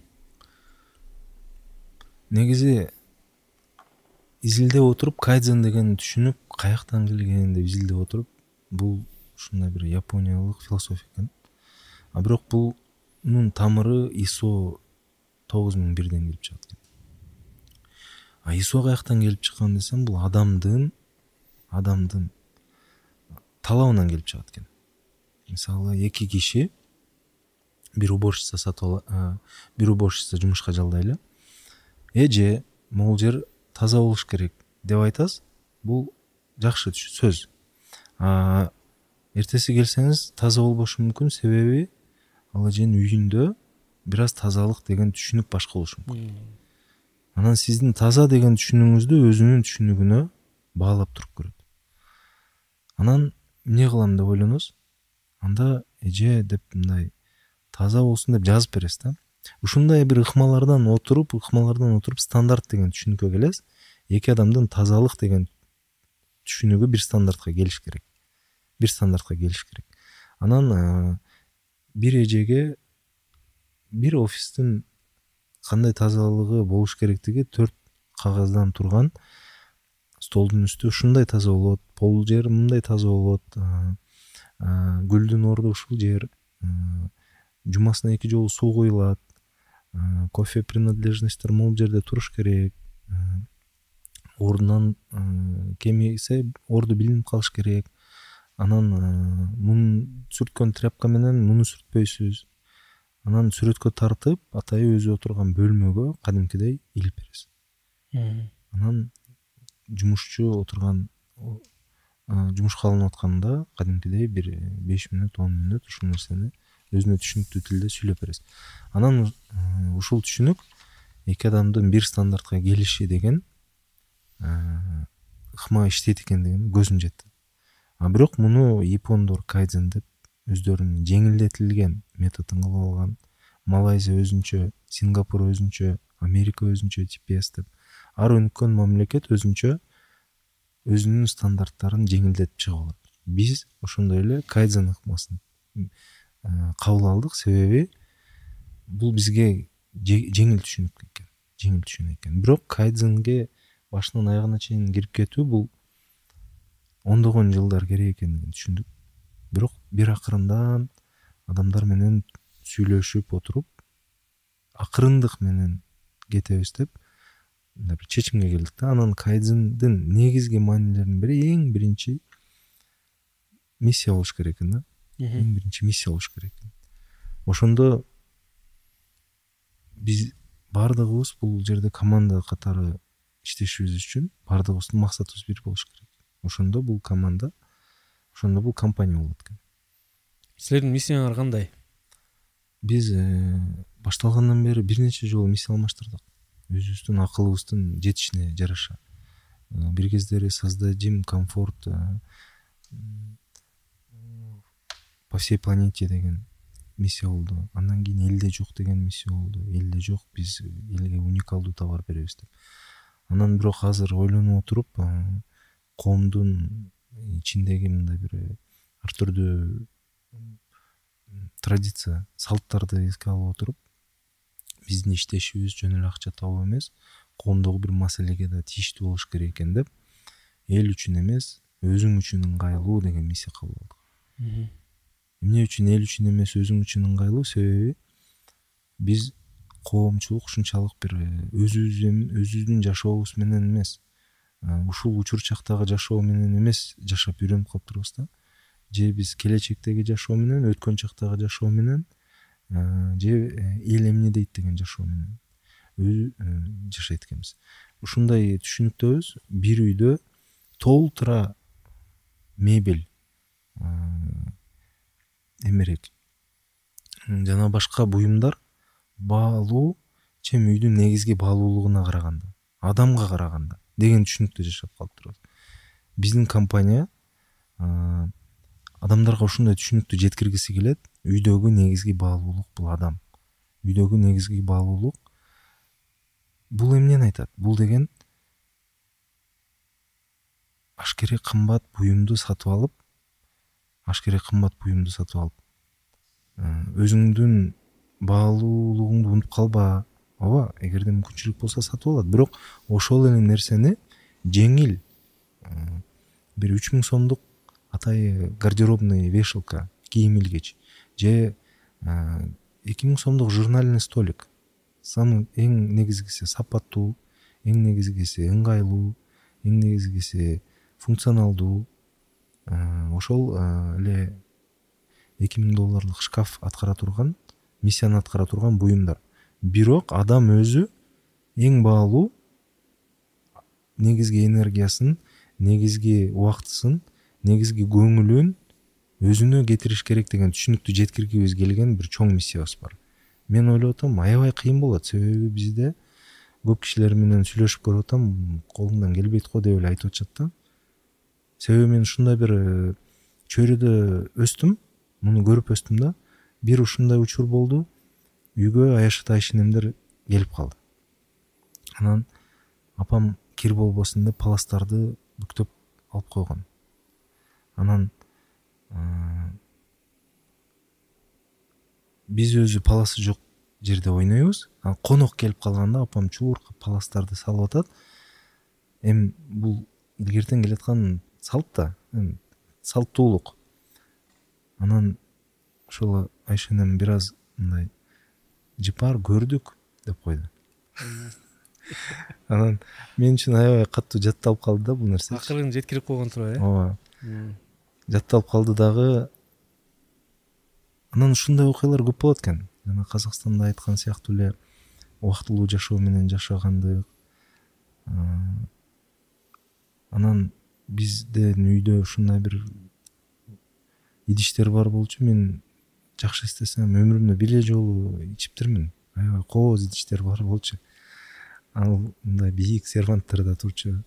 Негизи изилдеп отуруп, кайдзен деген түшүнүк каяктан келген деп изилдеп отуруп, бул ушундай бир япониялык философия экен. А бирок бунун тамыры ай эс о тогуз миң бирден келип чыгат экен. А ай эс о каяктан келип чыккан десем, бул адамдын адамдын талабынан келип чыгат экен. Мисалы, эки киши бир уборщица сатып ала, бир уборщица жумушка жалдайлы. Эже, могул жер таза болуш керек деп айтасыз. Бул жакшы сөз. А эртеси келсеңиз таза болбошу мүмкүн, себеби ал эженин үйүндө бир аз тазалык деген түшүнүк башка болушу мүмкүн. Анан сиздин таза деген түшүнүгүңүздү өзүнүн түшүнүгүнө баалап туруп көрөт. Анан эмне кылам деп ойлоносуз? Анда эже деп мындай таза болсун деп жазып бересиз да. Ушундай бир ыкмалардан отуруп, ыкмалардан отуруп стандарт деген түшүнүккө келесиз. Эки адамдын тазалык деген түшүнүгү бир стандартка келиш керек. Бир стандартка келиш керек. Анан бир эжеге бир офистин кандай тазалыгы болуш керектиги төрт кагаздан турган столдун үстү ушундай таза болот, пол жер мындай таза болот, гүлдүн орду ушул жер, жумасына эки жолу суу куюлат, кофе принадлежностьтер могул жерде туруш керек, ордунан кемисе орду билинип калыш керек. Анан муну сүрткөн тряпка менен муну сүртпөйсүз. Анан сүрөткө тартып атайы өзү отурган бөлмөгө кадимкидей илип бересиз. Анан жумушчу отурган жумушка алынып атканда кадимкидей бир беш мүнөт он мүнөт ушул нерсени өзүнө түшүнүктүү тилде сүйлөп бересиз. Анан ушул түшүнүк эки адамдын бир стандартка келиши деген ыкма иштейт экендигин көзүм жетти. А бирок муну япондор кайдзен деп өздөрүнүн жеңилдетилген методун кылып алган. Малайзия өзүнчө, Сингапур өзүнчө, Америка өзүнчө ти пи эс деп ар өнүккөн мамлекет өзүнчө өзүнүн стандарттарын жеңилдетип чыгып алат. Биз ошондой эле кайдзен ыкмасын кабыл алдык, себеби бул бизге жеңил түшүнүк экен, жеңил түшүнүк экен. Бирок кайдзенге башынан аягына чейин кирип кетүү бул ондогон жылдар керек экендигин түшүндүк. Бирок бир акырындан адамдар менен сүйлөшүп отуруп, акырындык менен кетебиз деп мындай бир чечимге келдик да. Анан кайдзендин негизги маанилеринин бири эң биринчи миссия болуш керек экен да. Эң биринчи миссия болуш керек экен. Ошондо биз бардыгыбыз бул жерде команда катары иштешибиз үчүн бардыгыбыздын максатыбыз бир болуш керек. Ошондо бул команда, ошондо бул компания болот экен. Силердин миссияңар кандай? Биз башталгандан бери бир нече жолу миссия алмаштырдык. Өзүбүздүн акылыбыздын жетишине жараша. Бир кездери создадим комфорт по всей планете деген миссия болду. Андан кийин элде жок деген миссия болду. Элде жок, биз элге уникалдуу товар беребиз деп. Анан бирок азыр ойлонуп отуруп, коомдун ичиндеги мындай бир ар түрдүү традиция, салттарды эске алып отуруп, биздин иштешибиз жөн эле акча табуу эмес, коомдогу бир маселеге да тийиштүү болуш керек экен деп, эл үчүн эмес, өзүң үчүн ыңгайлуу деген миссия кабыл алдык. Эмне үчүн эл үчүн эмес, өзүң үчүн ыңгайлуу? Себеби биз коомчулук ушунчалык бир өзүбүз өзүбүздүн жашообуз менен эмес, ушул учур чактагы жашоо менен эмес жашап үйрөнүп калыптырбыз да. Же биз келечектеги жашоо менен, өткөн чактагы жашоо менен, же эл эмне дейт деген жашоо менен өзү жашайт экенбиз. Ушундай түшүнүктөбүз. Бир үйдө толтура мебель, эмерек жана башка буюмдар баалуу чем үйдүн негизги баалуулугуна караганда, адамга караганда деген түшүнүктө жашап калыптырбыз. Биздин компания адамдарга ушундай түшүнүктү жеткиргиси келет. Үйдөгү негизги баалуулук бул адам. Үйдөгү негизги баалуулук бул эмнени айтат? Бул деген ашкерек кымбат буюмду сатып алып, ашкерек кымбат буюмду сатып алып, өзүңдүн баалуулугуңду унутуп калба. Ооба, эгерде мүмкүнчүлүк болсо сатып алат. Бирок ошол эле нерсени жеңил бир үч миң сомдук атайы гардеробный вешалка, кийим илгеч же эки миң сомдук журнальный столик. Самый эң негизгиси сапаттуу, эң негизгиси ыңгайлуу, эң негизгиси функционалдуу. Ошол эле эки миң долларлык шкаф аткара турган, миссияны аткара турган буюмдар. Бирок адам өзү эң баалуу негизги энергиясын, негизги убактысын, негизги көңүлүн өзүнө кетириш керек деген түшүнүктү жеткиргибиз келген бир чоң миссиябыз бар. Мен ойлоп атам, аябай кыйын болот, себеби бизде көп кишилер менен сүйлөшүп көрүп атам, колуңдан келбейт го деп эле айтып атышат да. Себеби мен ушундай бир чөйрөдө өстүм, муну көрүп өстүм да. Бир ушундай учур болду. Үйгө Аяшата ишенемдер келип калды. Анан апам кир болбосун деп паластарды бүктөп алып койгон. Анан биз өзү паласы жок жерде ойнойбуз. Ал конок келип калганда апам чууркап паластарды салып атат. Эми бул илгертен келаткан салт да, эми салттуулук. Анан ошол Айшенем бир аз мындай жыпар көрдүк деп койду. Анан мен үчүн аябай катуу жатталып калды да бул нерсе. Акырын жеткирип койгон тура, э? Ооба. Жатталып калды дагы. Анан ушундай окуялар көп болот экен. Жана Казакстанда айткан сыяктуу эле убактылуу жашоо менен жашагандык. Анан биздин үйдө ушундай бир идиштер бар болчу. Мен жакшы эстесем өмүрүмдө бир жолу ичиптирмин. Аябай кооз идиштер бар болчу. Ал мындай бийик серванттарда турчу.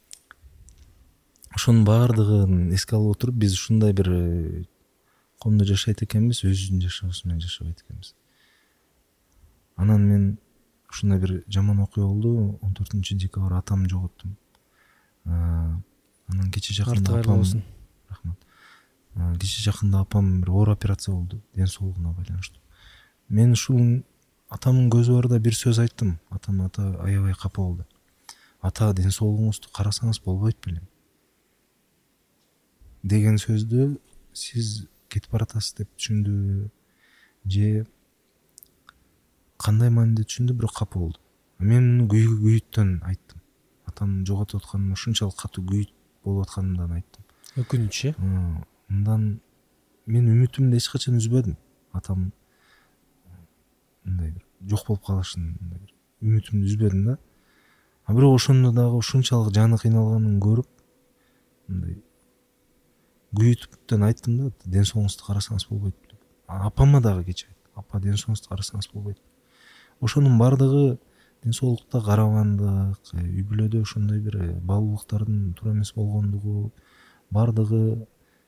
Ошонун баардыгын эске алып отуруп, биз ушундай бир комдо жашайт экенбиз, өзүбүздүн жашообуз менен жашабайт экенбиз. Анан мен ушундай бир жаман окуя болду. он төртүнчү декабрь атамды жоготтум. Анан кече жакында апам, рахмат. Кече жакында апам бир оор операция болду, ден соолугуна байланыштуу. Мен ушул атамдын көзү барда бир сөз айттым. Атам ата аябай капа болду. Ата, ден соолугуңузду карасаңыз болбойт белем деген сөздү сиз кетип баратасыз деп түшүндү же кандай мааниде түшүндү, бирок капа болду. Мен муну күйүттөн айттым. Атамды жоготуп атканыма ушунчалык катуу күйүт болуп атканымдан айттым. Өкүнүч, э? Мындан мен үмүтүмдү эч качан үзбөдүм. Атам мындай бир жок болуп калышын үмүтүмдү үзбөдүм да. А бирок ошондо дагы ушунчалык жаны кыйналганын көрүп, мындай күйүтүптөн айттым да, ден соолугуңузду карасаңыз болбойт деп. Апама дагы кече айттым. Апа, ден соолугуңузду карасаңыз болбойт. Ошонун бардыгы ден соолукта карабандык, үй бүлөдө ошондой бир баалуулуктардын туура эмес болгондугу, бардыгы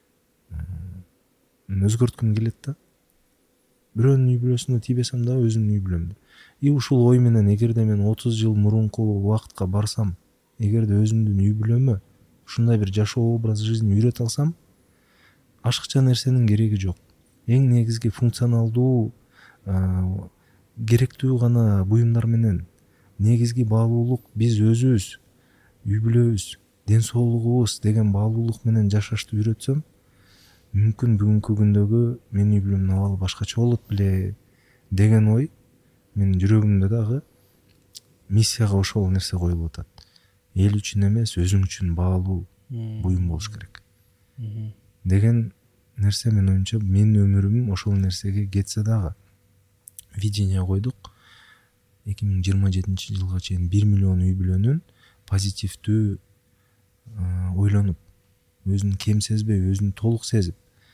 өзгөрткүм келет да. Бирөөнүн үй бүлөсүнө тийбесем да өзүмдүн үй бүлөмдө. И ушул ой менен эгерде мен отуз жыл мурунку убакытка барсам, эгерде өзүмдүн үй бүлөмө ушундай бир жашоо образ жизни үйрөтө алсам, ашыкча нерсенин кереги жок. Эң негизги функционалдуу, керектүү гана буюмдар менен негизги баалуулук биз өзүбүз, үй бүлөбүз, ден соолугубуз деген баалуулук менен жашашты үйрөтсөм, мүмкүн бүгүнкү күндөгү менин үй бүлөмдүн абалы башкача болот беле деген ой менин жүрөгүмдө дагы миссияга ошол нерсе коюлуп атат. Эл үчүн эмес, өзүң үчүн баалуу буюм болуш керек деген нерсе менин оюмча менин өмүрүм ошол нерсеге кетсе дагы. Видение койдук. эки миң жыйырма жетинчи жылга чейин бир миллион үй бүлөнүн позитивдүү ойлонуп, өзүн кем сезбей, өзүн толук сезип,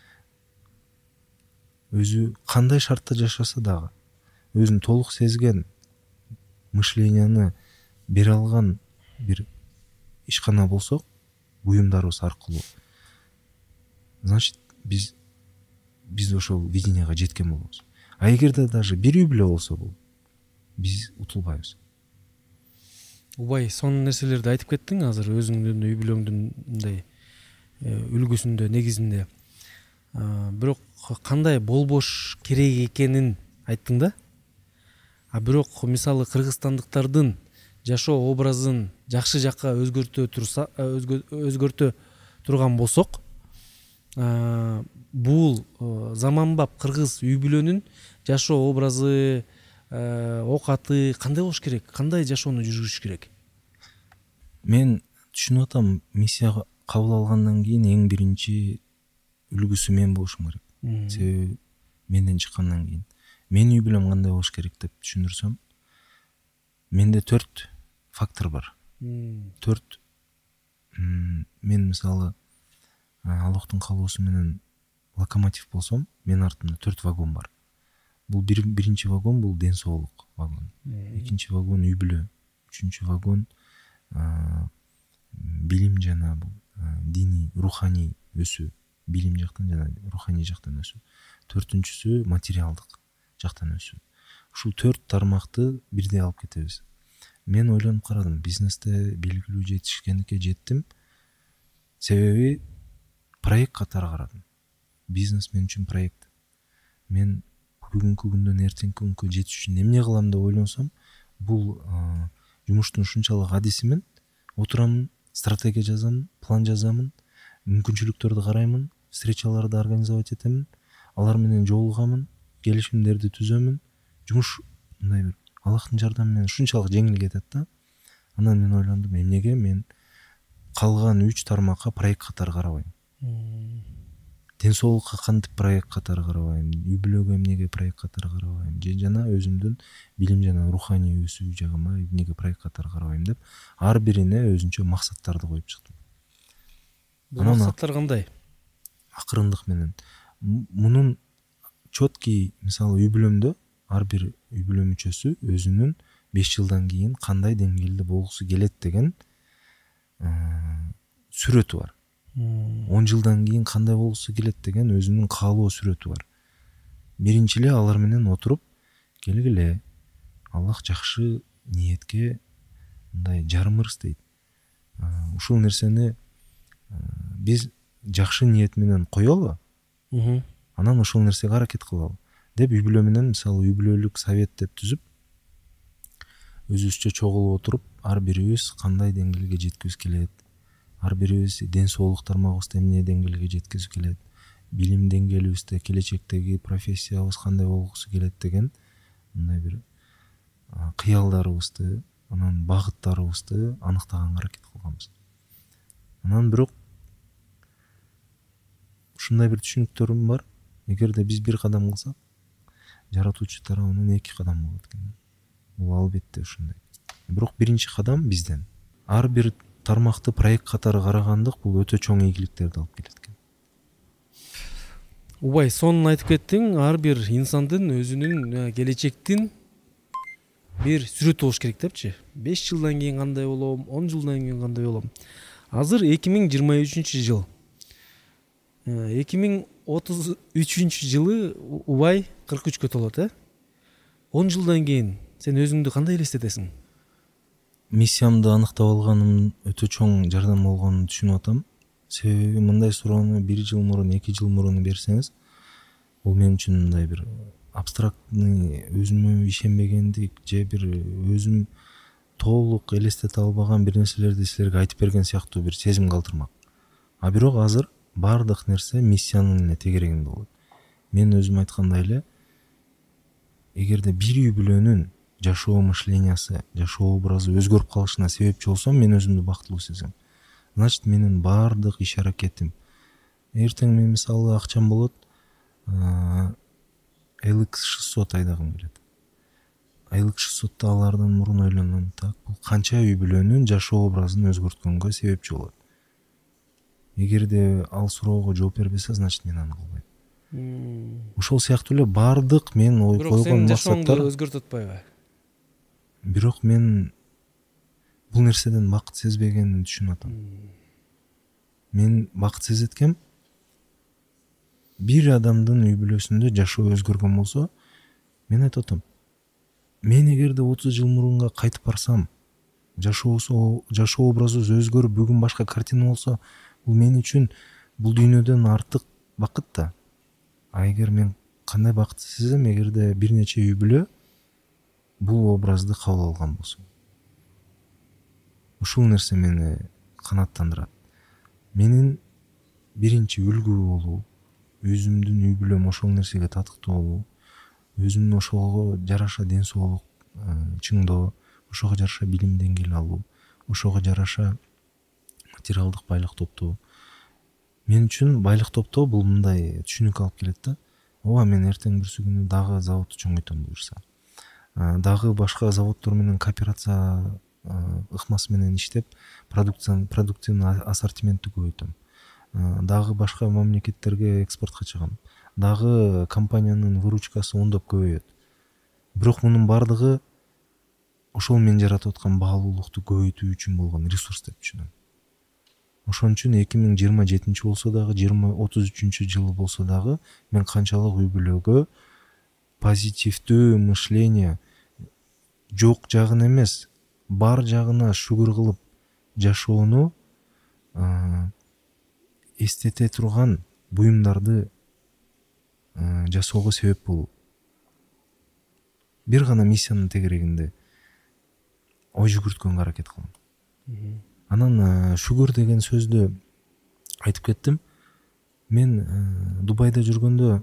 өзү кандай шартта жашаса дагы өзүн толук сезген мышленияны бере алган бир ишкана болсок, буюмдарыбыз аркылуу, значит биз биз ошол виденияга жеткен болобуз. А эгерде даже бир үй бүлө болсо бул, биз утулбайбыз. Убай, сонун нерселерди айтып кеттиң азыр өзүңдүн үй бүлөңдүн мындай үлгүсүндө, негизинде. Бирок кандай болбош керек экенин айттың да. А бирок мисалы кыргызстандыктардын жашоо образын жакшы жакка өзгөртө турса, өзгөртө турган болсок, бул заманбап кыргыз үй бүлөнүн жашоо образы, окаты кандай болуш керек? Кандай жашоону жүргүзүш керек? Мен түшүнүп атам, миссия кабыл алгандан кийин эң биринчи үлгүсү мен болушум керек. Себеби менден чыккандан кийин менин үй бүлөм кандай болуш керек деп түшүндүрсөм, менде төрт фактор бар. Төрт. Мен мисалы Аллахтын каалоосу менен локомотив болсом, менин артымда төрт вагон бар. Бул бир, биринчи вагон бул ден соолук вагону. Экинчи вагон үй бүлө. Үчүнчү вагон билим жана бул диний, руханий өсүү. Билим жактан жана руханий жактан өсүү. Төртүнчүсү материалдык жактан өсүү. Ушул төрт тармакты бирдей алып кетебиз. Мен ойлонуп карадым, бизнесте белгилүү жетишкендикке жеттим. Себеби проект катары карадым. Бизнес мен үчүн проект. Мен бүгүнкү күндөн эртеңки күнгө жетиш үчүн эмне кылам деп ойлонсом, бул жумуштун ушунчалык адисимин, отурамын, стратегия жазамын, план жазамын, мүмкүнчүлүктөрдү караймын, встречаларды организовать этемин, алар менен жолугамын, келишимдерди түзөмүн. Жумуш мындай бир Аллахтын жардамы менен ушунчалык жеңил кетет да. Анан мен ойлондум, эмнеге мен калган үч тармакка проект катары карабайм. Ден соолукка кантип проект катары карабайм, үй бүлөгө эмнеге проект катары карабайм, же жана өзүмдүн билим жана руханий өсүү жагыма эмнеге проект катары карабайм деп ар бирине өзүнчө максаттарды коюп чыктым. Бул максаттар кандай? Акырындык менен. Мунун четкий, мисалы үй бүлөмдө ар бир үй бүлө мүчөсү өзүнүн беш жылдан кийин кандай деңгээлде болгусу келет деген сүрөтү бар. он жылдан кийин кандай болгусу келет деген өзүнүн каалоо сүрөтү бар. Биринчи эле алар менен отуруп, келгиле, Аллах жакшы ниетке мындай жарымырс дейт. Ушул нерсени биз жакшы ниет менен коелу, анан ошол нерсеге аракет кылалы деп үй бүлө менен, мисалы үй бүлөлүк совет деп түзүп, өзүбүзчө чогулуп отуруп, ар бирибиз кандай деңгээлге жеткибиз келет, ар бирибиз ден соолук тармагыбызды эмне деңгээлге жеткизип келет, билим деңгээлибизде келечектеги профессиябыз кандай болгусу келет деген мындай бир кыялдарыбызды, анан багыттарыбызды аныктаганга аракет кылганбыз. Анан бирок ушундай бир түшүнүктөрүм бар. Эгерде биз бир кадам кылсак, жаратуучу тарабынан эки кадам болот экен. Бул албетте ушундай. Бирок биринчи кадам бизден. Ар бир тармакты проект катары карагандык бул өтө чоң ийгиликтерди алып келет экен. Убай, сонун айтып кеттиң. Ар бир инсандын өзүнүн келечектин бир сүрөтү болуш керек депчи. беш жылдан кийин кандай болом, он жылдан кийин кандай болом. Азыр эки миң жыйырма үчүнчү жыл. эки миң отуз үчүнчү жылы Убай кырк үчкө толот, э? он жылдан кийин сен өзүңдү кандай элестетесиң? Миссиямды аныктап алганым өтө чоң жардам болгонун түшүнүп атам. Себеби мындай суроону бир жыл мурун, эки жыл мурун берсеңиз, бул мен үчүн мындай бир абстрактный, өзүмө ишенбегендик же бир өзүм толук элестете албаган бир нерселерди силерге айтып берген сыяктуу бир сезим калтырмак. А бирок азыр бардык нерсе миссиянын эле тегерегинде болот. Мен өзүм айткандай эле, эгерде бир үй бүлөнүн жашоо мышлениясы, жашоо образы өзгөрүп калышына себепчи болсом, мен өзүмдү бактылуу сезем. Значит, менин бардык иш аракетим, эртең мен мисалы акчам болот, эл икс шестьсот айдагым келет. эл икс шестьсотто алардан мурун ойлоном, так, бул канча үй бүлөнүн жашоо образын өзгөрткөнгө себепчи болот. Эгерде ал суроого жооп бербесе, значит мен аны кылбайм. Ошол сыяктуу эле бардык мен ой койгон максаттар. Бирок сен жашооңду өзгөртүп атпайбы? Бирок мен бул нерседен бакыт сезбегенин түшүнүп атам. Мен бакыт сезеткем, бир адамдын үй бүлөсүндө жашоо өзгөргөн болсо, мен айтып атам, мен эгерде отуз жыл мурунга кайтып барсам, жашоосу, жашоо образыбыз өзгөрүп, бүгүн башка картина болсо, бул мен үчүн бул дүйнөдөн артык бакыт да. А эгер мен кандай бакыт сезем, эгерде бир нече үй бүлө бул образды кабыл алган болсо. Ушул нерсе мени канааттандырат. Менин биринчи үлгү болуу, өзүмдүн үй бүлөм ошол нерсеге татыктуу болуу, өзүмдүн ошого жараша ден соолук чыңдоо, ошого жараша билим деңгээли алуу, ошого жараша материалдык байлык топтоо. Мен үчүн байлык топтоо бул мындай түшүнүк алып келет да. Ооба, мен эртең бүрсү күнү дагы заводду чоңойтом буюрса. Дагы башка заводдор менен кооперация ыкмасы менен иштеп, продукцияны, продуктивный ассортиментти көбөйтөм. Дагы башка мамлекеттерге экспортко чыгам. Дагы компаниянын выручкасы ондоп көбөйөт. Бирок мунун бардыгы ошол мен жаратып аткан баалуулукту көбөйтүү үчүн болгон ресурс деп түшүнөм. Ошон үчүн эки миң жыйырма жетинчи болсо дагы, жыйырма отуз үчүнчү жыл болсо дагы, мен канчалык үй бүлөгө позитивдүү мышление, жок жагын эмес, бар жагына шүгүр кылып жашоону эстете турган буюмдарды жасоого себеп болуу. бир гана миссиянын тегерегинде ой жүгүрткөнгө аракет кылам. Анан шүгүр деген сөздү айтып кеттим. Мен Дубайда жүргөндө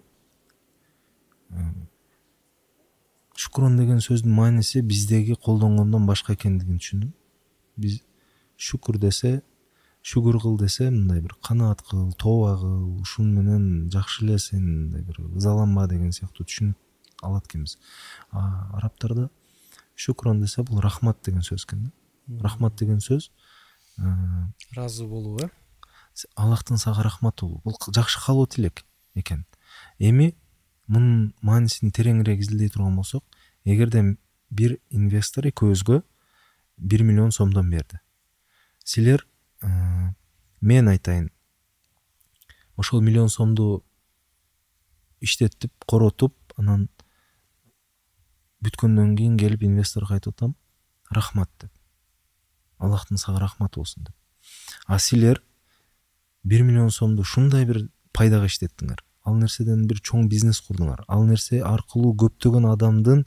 шукрон деген сөздүн мааниси биздеги колдонгондон башка экендигин түшүндүм. Биз шүкүр десе, шүгүр кыл десе, мындай бир канаат кыл, тооба кыл, ушун менен жакшы эле сен мындай бир ызаланба деген сыяктуу түшүнүк алат экенбиз. А арабтарда шукрон десе бул рахмат деген сөз экен да. Рахмат деген сөз ыраазы болуу, э? Аллахтын сага рахматы болуу. Бул жакшы каалоо тилек экен. Эми мунун маанисин тереңирээк изилдей турган болсок, эгерде бир инвестор экөөбүзгө бир миллион сомдон берди. Силер, мен айтайын, ошол миллион сомду иштетип, коротуп, анан бүткөндөн кийин келип инвесторго айтып атам, рахмат деп. Аллахтын сага рахматы болсун деп. А силер бир миллион сомду ушундай бир пайдага иштеттиңер. Ал нерседен бир чоң бизнес курдуңар. Ал нерсе аркылуу көптөгөн адамдын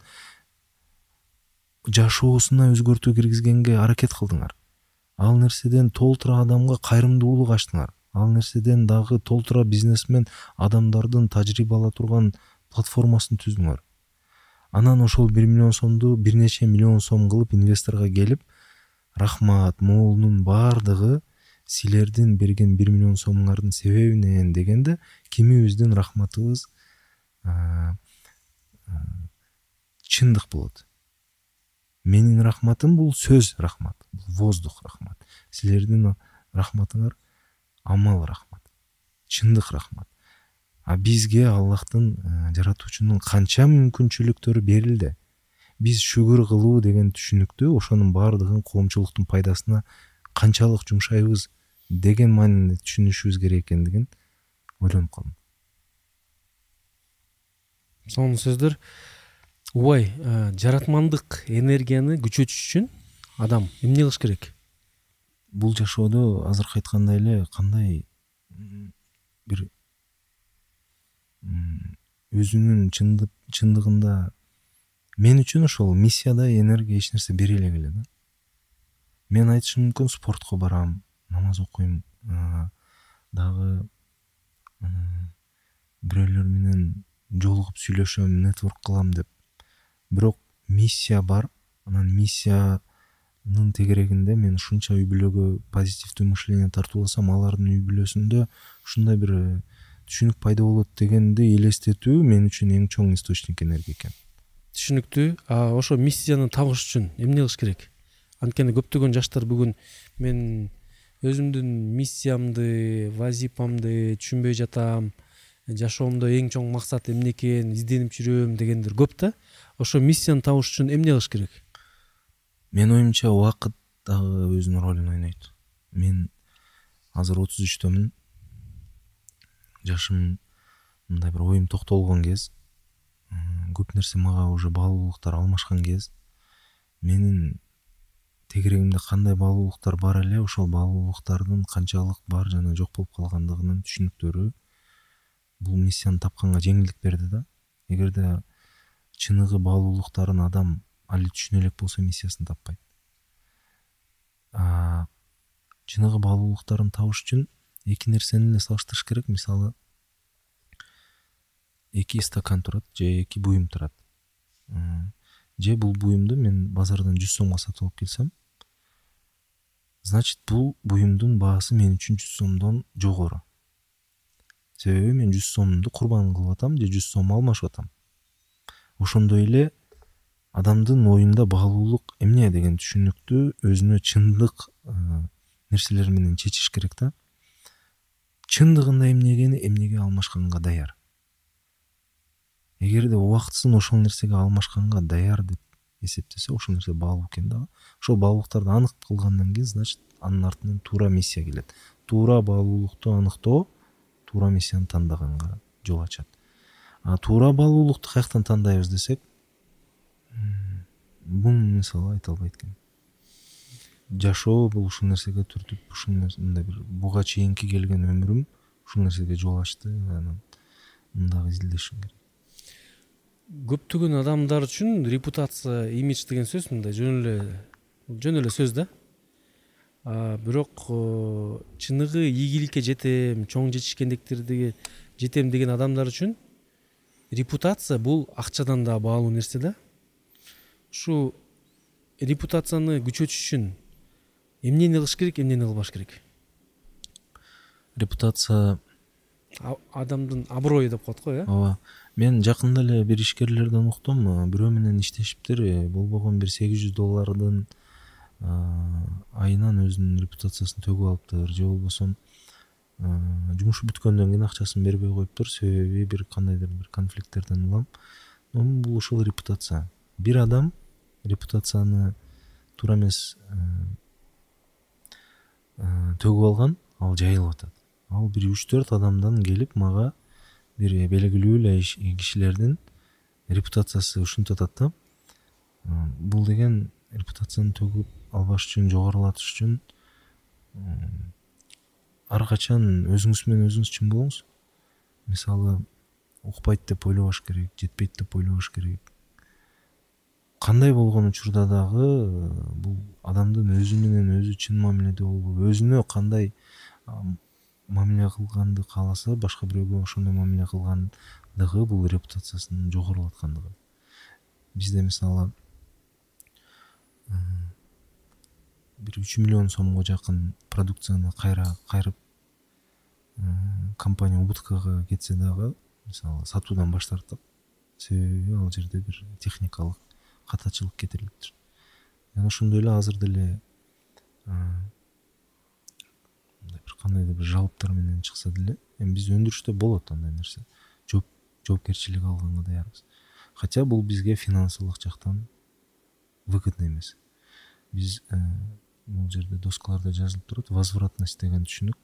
жашоосуна өзгөртүү киргизгенге аракет кылдыңар. Ал нерседен толтура адамга кайрымдуулук ачтыңар. Ал нерседен дагы толтура бизнесмен адамдардын тажрыйба ала турган платформасын түздүңөр. Анан ошол бир миллион сомду бир нече миллион сом кылып инвесторго келип, рахмат, моолунун бардыгы силердин берген бир миллион сомуңардын себебинен дегенде, кимибиздин рахматыбыз чындык болот. Менин рахматым бул сөз рахмат, воздух рахмат. Силердин рахматыңар амал рахмат, чындык рахмат. А бизге Аллахтын, жаратуучунун канча мүмкүнчүлүктөрү берилди. Биз шүгүр кылуу деген түшүнүктү, ошонун бардыгын коомчулуктун пайдасына канчалык жумшайбыз деген маанинде түшүнүшүбүз керек экендигин ойлонуп калдым. Сонун сөздөр. Убай, жаратмандык энергияны күчөтүш үчүн адам эмне кылыш керек? Бул жашоодо азыркы айткандай эле кандай бир өзүнүн чындыгында мен үчүн ошол миссияда энергия эч нерсе бере элек эле да. Мен айтышым мүмкүн, спортко барам, намаз окуйм, дагы бирөөлөр менен жолугуп сүйлөшөм, нетворк кылам деп. Бирок миссия бар. Анан миссиянын тегерегинде мен ушунча үй бүлөгө позитивдүү мышление тартууласам, алардын үй бүлөсүндө ушундай бир түшүнүк пайда болот дегенди элестетүү мен үчүн эң чоң источник энергия экен. Түшүнүктүү. А ошо миссияны табыш үчүн эмне кылыш керек? Анткени көптөгөн жаштар бүгүн мен өзүмдүн миссиямды, вазипамды түшүнбөй жатам, жашоомдо эң чоң максат эмне экен, изденип жүрөм дегендер көп да. Ошо миссияны табыш үчүн эмне кылыш керек? Мен оюмча убакыт дагы өзүнүн ролун ойнойт. Мен азыр отуз үчтөмүн. Жашым мындай бир оюм токтолгон кез. Көп нерсе мага уже баалуулуктар алмашкан кез. Менин тегерегимде кандай баалуулуктар бар эле, ошол баалуулуктардын канчалык бар жана жок болуп калгандыгынын түшүнүктөрү бул миссияны тапканга жеңилдик берди да. Эгерде чыныгы баалуулуктарын адам али түшүнө элек болсо, миссиясын таппайт. А чыныгы баалуулуктарын табыш үчүн эки нерсени эле салыштырыш керек. Мисалы, эки стакан турат же эки буюм турат. Же бул буюмду мен базардан жүз сомго сатып алып келсем, значит бул буюмдун баасы мен үчүн жүз сомдон жогору. Себеби мен жүз сомду курбан кылып атам же жүз сом алмашып атам. Ошондой эле адамдын оюнда баалуулук эмне деген түшүнүктү өзүнө чындык нерселер менен чечиш керек да. Чындыгында эмнегени эмнеге алмашканга даяр. Эгерде убактысын ошол нерсеге алмашканга даяр деп эсептесе, ошол нерсе баалуу экен да. Ошол баалуулуктарды анык кылгандан кийин, значит, анын артынан туура миссия келет. Туура баалуулукту аныктоо туура миссияны тандаганга жол ачат. А туура баалуулукту каяктан тандайбыз десек, бун мисалы айта албайт экен. Жашоо бул ушул нерсеге түртүп, ушул нерсенде бир буга чейинки келген өмүрүм ушул нерсеге жол ачты. Анан мындагы изилдешим керек. көптөгөн адамдар үчүн репутация, имидж деген сөз мындай жөн эле жөн эле сөз да. А бирок чыныгы ийгиликке жетем, чоң жетишкендиктерди жетем деген адамдар үчүн репутация бул акчадан да баалуу нерсе да. Ушу репутацияны күчөтүш үчүн эмнени кылыш керек, эмнени кылбаш керек? Репутация адамдын аброю деп коет го, э? Ооба. Мен жакында эле бир ишкерлерден уктум, бирөө менен иштешиптир, болбогон бир сегиз жүз доллардын айынан өзүнүн репутациясын төгүп алыптыр, же болбосо жумушу бүткөндөн кийин акчасын бербей коюптур, себеби бир кандайдыр бир конфликттерден улам. Бул ушул репутация. Бир адам репутацияны туура эмес төгүп алган, ал жайылып атат. Ал бир үч төрт адамдан келип мага бир белгилүү эле кишилердин репутациясы ушинтип атат да. Бул деген репутацияны төгүп албаш үчүн, жогорулатыш үчүн ар качан өзүңүз менен өзүңүз чын болуңуз. Мисалы, укпайт деп ойлобош керек, жетпейт деп ойлобош керек. Кандай болгон учурда дагы бул адамдын өзү менен өзү чын мамиледе болуп, өзүнө кандай мамиле кылганды кааласа, башка бирөөгө ошондой мамиле кылгандыгы бул репутациясын жогорулаткандыгы. Бизде мисалы бир үч миллион сомго жакын продукцияны кайра кайрып компания убыткага кетсе дагы, мисалы, сатуудан баш тартып, себеби ал жерде бир техникалык катачылык кетирилиптир. Жана ошондой эле азыр деле бир кандайдыр бир жалптар менен чыкса деле, эми биз өндүрүштө болот андай нерсе. Жооп жоопкерчилик алганга даярбыз. Хотя бул бизге финансылык жактан выгодно эмес. Биз бул жерде доскаларда жазылып турат, возвратность деген түшүнүк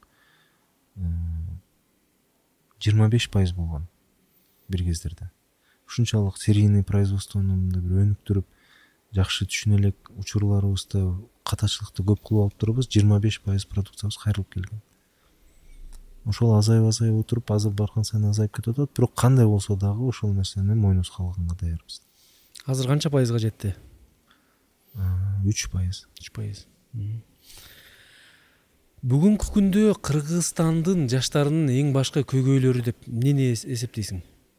жыйырма беш пайыз болгон бир кездерде. Ушунчалык серийный производствону мындай бир өнүктүрүп, жакшы түшүнө элек учурларыбызда катачылыкты көп кылып алып турбуз, жыйырма беш пайыз продукциябыз кайрылып келген. Ошол азайып азайып отуруп, азыр барган сайын азайып кетип атат, бирок кандай болсо дагы ошол нерсени мойнубузга алганга даярбыз. Азыр канча пайызга жетти? үч пайыз. үч пайыз. Бүгүнкү күндө Кыргызстандын жаштарынын эң башкы көйгөйлөрү деп эмнени эсептейсиң?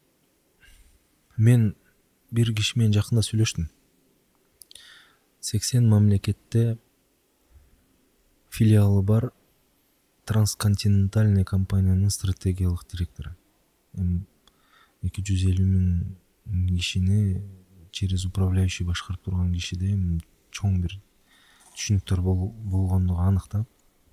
Мен бир киши менен жакында сүйлөштүм. сексен мамлекетте филиалы бар трансконтинентальный компаниянын стратегиялык директору. эки жүз элүү миң кишини через управляющий башкарып турган кишиде чоң бир түшүнүктөр болгондугу анык да.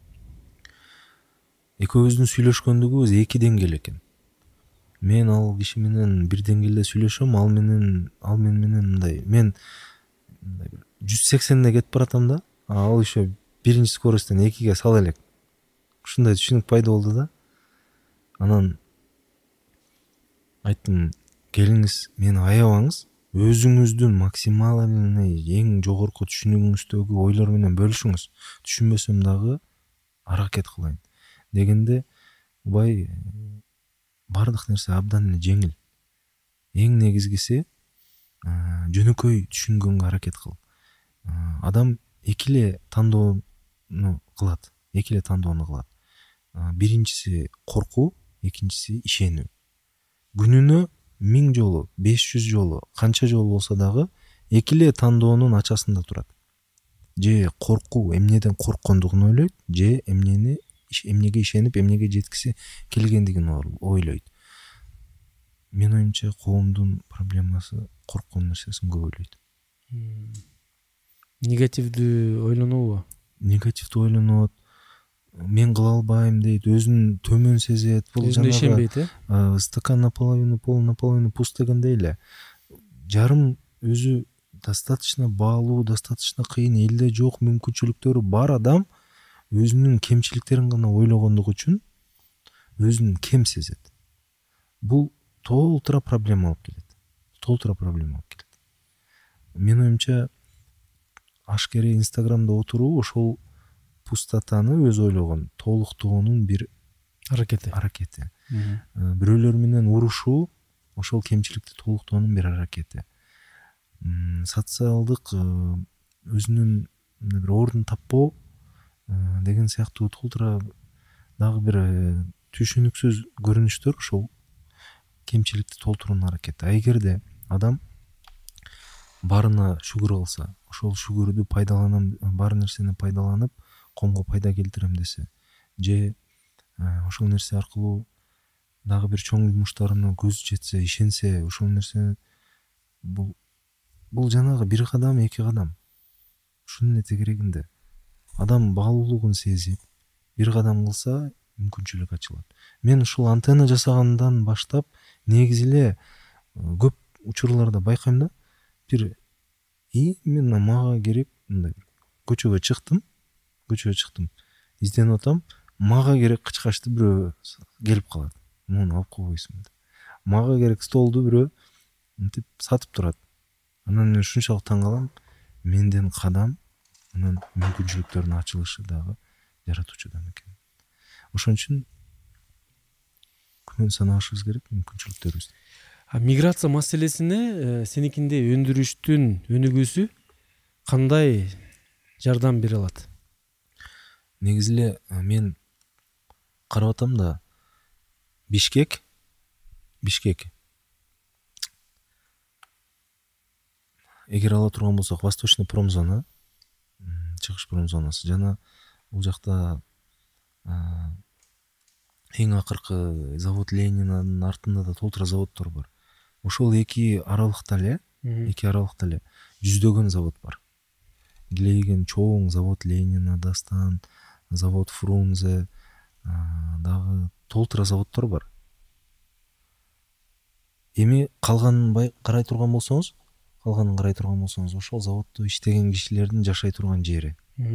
Экөөбүздүн сүйлөшкөндүгүбүз эки деңгээл экен. Мен ал киши менен бир деңгээлде сүйлөшөм, ал менен ал мен менен мындай, мен жүз сексенде кетип баратам да, ал еще биринчи скоростьтен экиге сала элек. Ушундай түшүнүк пайда болду да. Анан айттым, келиңиз, мени аябаңыз, өзүңүздүн максимальный эң жогорку түшүнүгүңүздөгү ойлор менен бөлүшүңүз. Түшүнбөсөм дагы аракет кылайын дегенде, убай бардык нерсе абдан эле жеңил. Эң негизгиси жөнөкөй түшүнгөнгө аракет кыл. Адам эки эле тандоону кылат, эки эле тандоону кылат. Биринчиси коркуу, экинчиси ишенүү. Күнүнө миң жолу, беш жүз жолу, канча жолу болсо дагы эки эле тандоонун ачасында турат. Же коркуу, эмнеден корккондугун ойлойт, же эмнени эмнеге ишенип, эмнеге жеткиси келгендигин ойлойт. Мен оюмча коомдун проблемасы корккон нерсесин көп ойлойт. Негативдүү ойлонобу? Негативдүү ойлонот. Мен кыла албайм дейт, өзүн төмөн сезет. Бул жанагы стакан наполовину пол, наполовину пуст дегендей эле. Жарым өзү достаточно баалуу, достаточно кыйын, элде жок мүмкүнчүлүктөрү бар адам өзүнүн кемчиликтерин гана ойлогондугу үчүн өзүн кем сезет. Бул толтура проблема алып келет. Толтура проблема алып келет. Мен оюмча ашкере Инстаграмда отуруу ошол пустотаны өз ойлогон, толуктоонун бир аракети. Аракети. Бирөөлөр менен урушуу ошол кемчиликти толуктоонун бир аракети. Социалдык өзүнүн бир ордун таппоо деген сыяктуу толтура дагы бир түшүнүксүз көрүнүштөр ошол кемчиликти толтуруунун аракети. А эгерде адам баарына шүгүр алса, ошол шүгүрдү пайдаланам, бар нерсени пайдаланып коомго пайда келтирем десе, же ошол нерсе аркылуу дагы бир чоң жумуштарына көзү жетсе, ишенсе, ошол нерсе бул бул жанагы бир кадам, эки кадам. Ушунун тегерегинде адам баалуулугун сезип, бир кадам кылса мүмкүнчүлүк ачылат. Мен ушул антенна жасагандан баштап негизи эле көп учурларда байкайм да, бир и мен мага керек мындай көчөгө чыктым, көчөгө чыктым, изденип атам, мага керек кычкачты бирөө келип калат. Муну алып койбойсуңбу деп. Мага керек столду бирөө мынтип сатып турат. Анан мен ушунчалык таң калам, менден кадам анан мүмкүнчүлүктөрдүн ачылышы дагы жаратуучудан экен. Ошон үчүн күмөн санабашыбыз керек мүмкүнчүлүктөрүбүздү. А миграция маселесине сеникинде өндүрүштүн өнүгүүсү кандай жардам бере алат? Негизи эле мен карап атам да, Бишкек Бишкек эгер ала турган болсок, Восточный промзона, чыгыш промзонасы жана бул жакта эң акыркы завод Ленинанын артында да толтура заводдор бар. Ошол эки аралыкта эле, эки аралыкта эле жүздөгөн завод бар. Килейген чоң завод Ленина, Дастан, завод Фрунзе, дагы толтура заводдор бар. Эми калганын карай турган болсоңуз, калганын карай турган болсоңуз, ошол заводдо иштеген кишилердин жашай турган жери,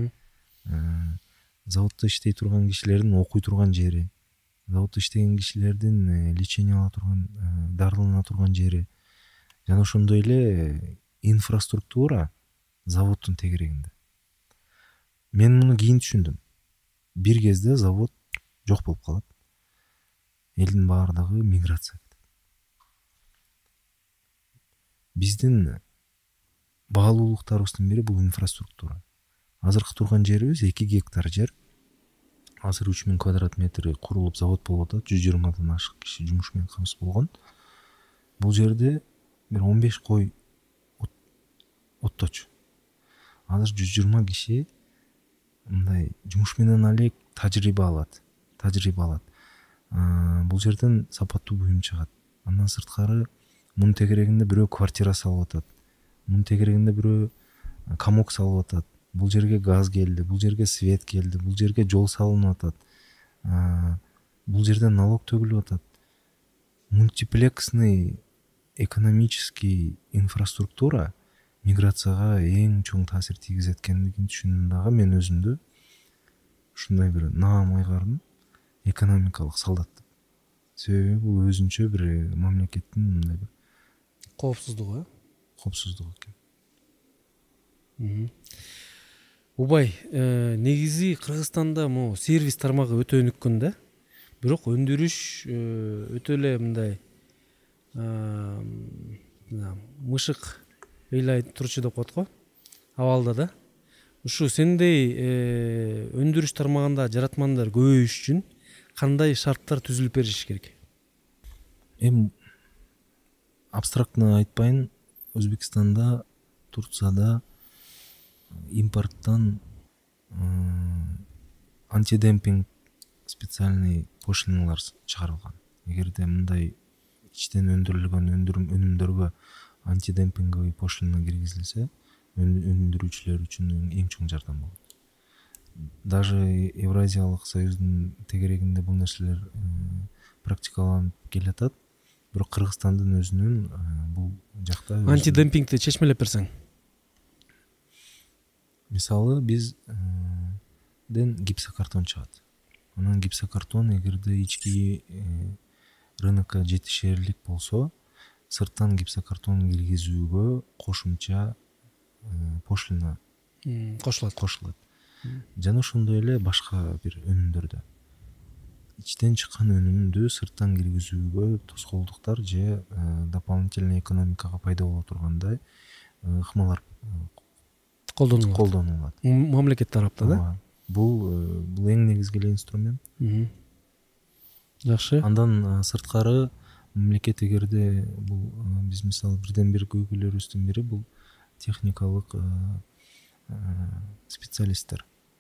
заводдо иштей турган кишилердин окуй турган жери, заводдо иштеген кишилердин лечение ала турган, дарылана турган жери, жана ошондой эле инфраструктура заводдун тегерегинде. Мен муну кийин түшүндүм. Бир кезде завод жок болуп калат. Элдин баардыгы миграция. Биздин баалуулуктарыбыздын бири бул инфраструктура. Азыркы турган жерибиз эки гектар жер. Азыр үч миң квадрат метр курулуп завод болуп атат, жүз жыйырмадан ашык киши жумуш менен камсыз болгон. Бул жерде бир он беш кой отточу. Азыр жүз жыйырма киши мындай жумуш менен алек тажрыйба алат, тажрыйба алат. Бул жерден сапаттуу буюм чыгат. Андан сырткары мунун тегерегинде бирөө квартира салып атат. Мунун тегерегинде бирөө комок салып атат. Бул жерге газ келди, бул жерге свет келди, бул жерге жол салынып атат. Бул жерден налог төгүлүп атат. Мультиплексный экономический инфраструктура миграцияга эң чоң таасир тийгизет экендигин түшүндүм дагы мен өзүмдү ушундай бир наам айгардым, экономикалык солдат. Себеби бул өзүнчө бир мамлекеттин мындай бир коопсуздугу, э? Коопсуздугу экен. Убай, негизи Кыргызстанда могу сервис тармагы өтө өнүккөн да. Бирок өндүрүш өтө эле мындай мышык ыйлай турчу деп коет го, абалда да. Ушу сендей өндүрүш тармагында жаратмандар көбөйүш үчүн кандай шарттар түзүлүп бериш керек? Эми абстрактно айтпайын, Өзбекстанда, Турцияда импорттан антидемпинг специальный пошлиналар чыгарылган. Эгерде мындай ичтен өндүрүлгөн өнүмдөргө антидемпинговый пошлина киргизилсе, өндүрүүчүлөр үчүн эң чоң жардам болот. Даже Евразиялык союздун тегерегинде бул нерселер практикаланып келатат. Бирок Кыргызстандын өзүнүн бул жакта антидемпингди чечмелеп берсең. Мисалы бизден гипсокартон чыгат. Анан гипсокартон эгерде ички рынокко жетишерлик болсо, сырттан гипсокартон киргизүүгө кошумча пошлина кошулат. Кошулат. Жана ошондой эле башка бир өнүмдөрдө. ичтен чыккан өнүмдү сырттан киргизүүгө тоскоолдуктар же дополнительный экономикага пайда боло тургандай ыкмалар колдонулат колдонулат мамлекет тараптан да. Бул бул эң негизги эле инструмент. Жакшы. Андан сырткары мамлекет эгерде бул биз мисалы бирден бир көйгөйлөрүбүздүн бири бул техникалык специалисттер.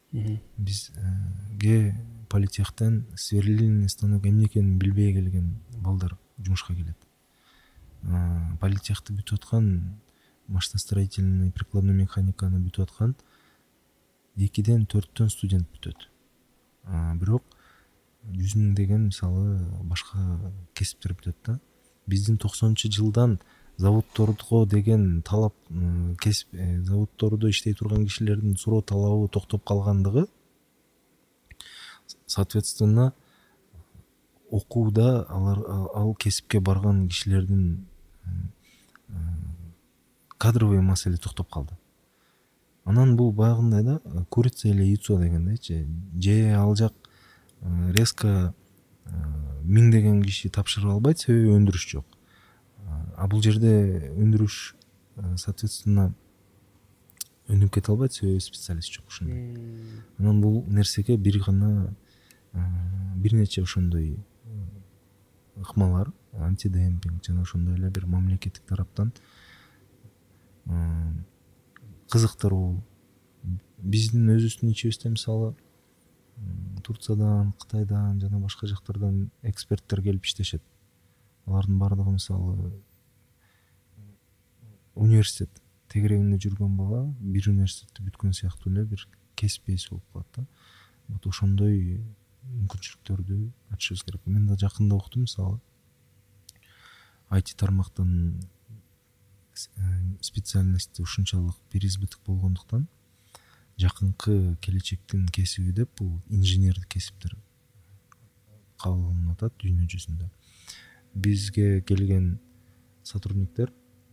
Бизге политехтен сверлильный станок эмне экенин билбей келген балдар жумушка келет. Политехти бүтүп аткан, машиностроительный, прикладной механиканы бүтүп аткан экиден төрттөн студент бүтөт. Бирок жүз миңдеген мисалы башка кесиптер бүтөт да. Биздин токсонунчу жылдан заводдорго деген талап, кесип заводдордо иштей турган кишилердин суроо талабы токтоп калгандыгы, соответственно окууда алар ал кесипке барган кишилердин кадровый маселе токтоп калды. Анан бул баягындай да, курица или яйцо дегендейчи. Же ал жак резко миңдеген киши тапшырып албайт, себеби өндүрүш жок. А бул жерде өндүрүш соответственно өнүп кете албайт, себеби специалист жок ушундай. Анан бул нерсеге бир гана бир нече ошондой ыкмалар, антидемпинг жана ошондой эле бир мамлекеттик тараптан кызыктыруу. Биздин өзүбүздүн ичибизде мисалы Турциядан, Кытайдан жана башка жактардан эксперттер келип иштешет. Алардын баардыгы мисалы университет тегерегинде жүргөн бала бир университетти бүткөн сыяктуу эле бир кесип ээси болуп калат да. Вот ошондой мүмкүнчүлүктөрдү ачышыбыз керек. Мен да жакында уктум мисалы ай ти тармактын специальности ушунчалык переизбыток болгондуктан жакынкы келечектин кесиби деп бул инженердик кесиптер кабыл алынып атат дүйнө жүзүндө. Бизге келген сотрудниктер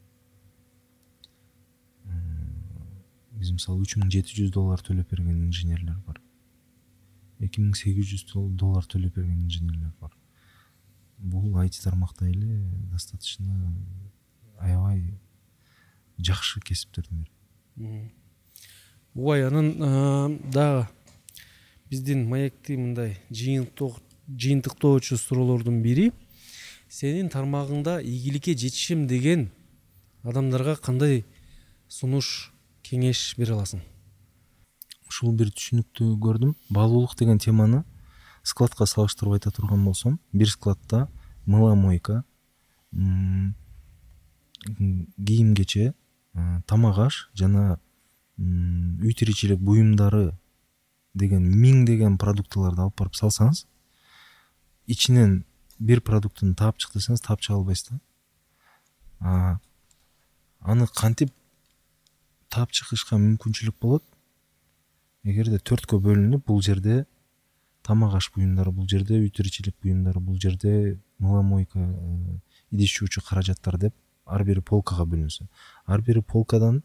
биз мисалы үч миң жети жүз доллар төлөп берген инженерлер бар. эки миң сегиз жүз доллар төлөп берген инженерлер бар. Бул ай ти тармакта эле достаточно аябай жакшы кесиптердин бири. Ой, анан дагы биздин маекти мындай жыйынтыктоочу суроолордун бири, сенин тармагыңда ийгиликке жетишим деген адамдарга кандай сунуш, кеңеш бере аласың? Ушул бир түшүнүктүү көрдүм. Баалуулук деген теманы складка салыштырып айта турган болсом, бир складта мыломойка, кийим-кече, тамак-аш жана үй тиричилик буюмдары деген миңдеген продуктыларды алып барып салсаңыз, ичинен бир продуктун таап чык десеңиз, таап чыга албайсыз да. Аны кантип таап чыгышка мүмкүнчүлүк болот? Эгерде төрткө бөлүнүп, бул жерде тамак-аш буюмдары, бул жерде үй тиричилик буюмдары, бул жерде мыломойка, идиш жуучу каражаттар деп ар бири полкага бөлүнсө, ар бири полкадан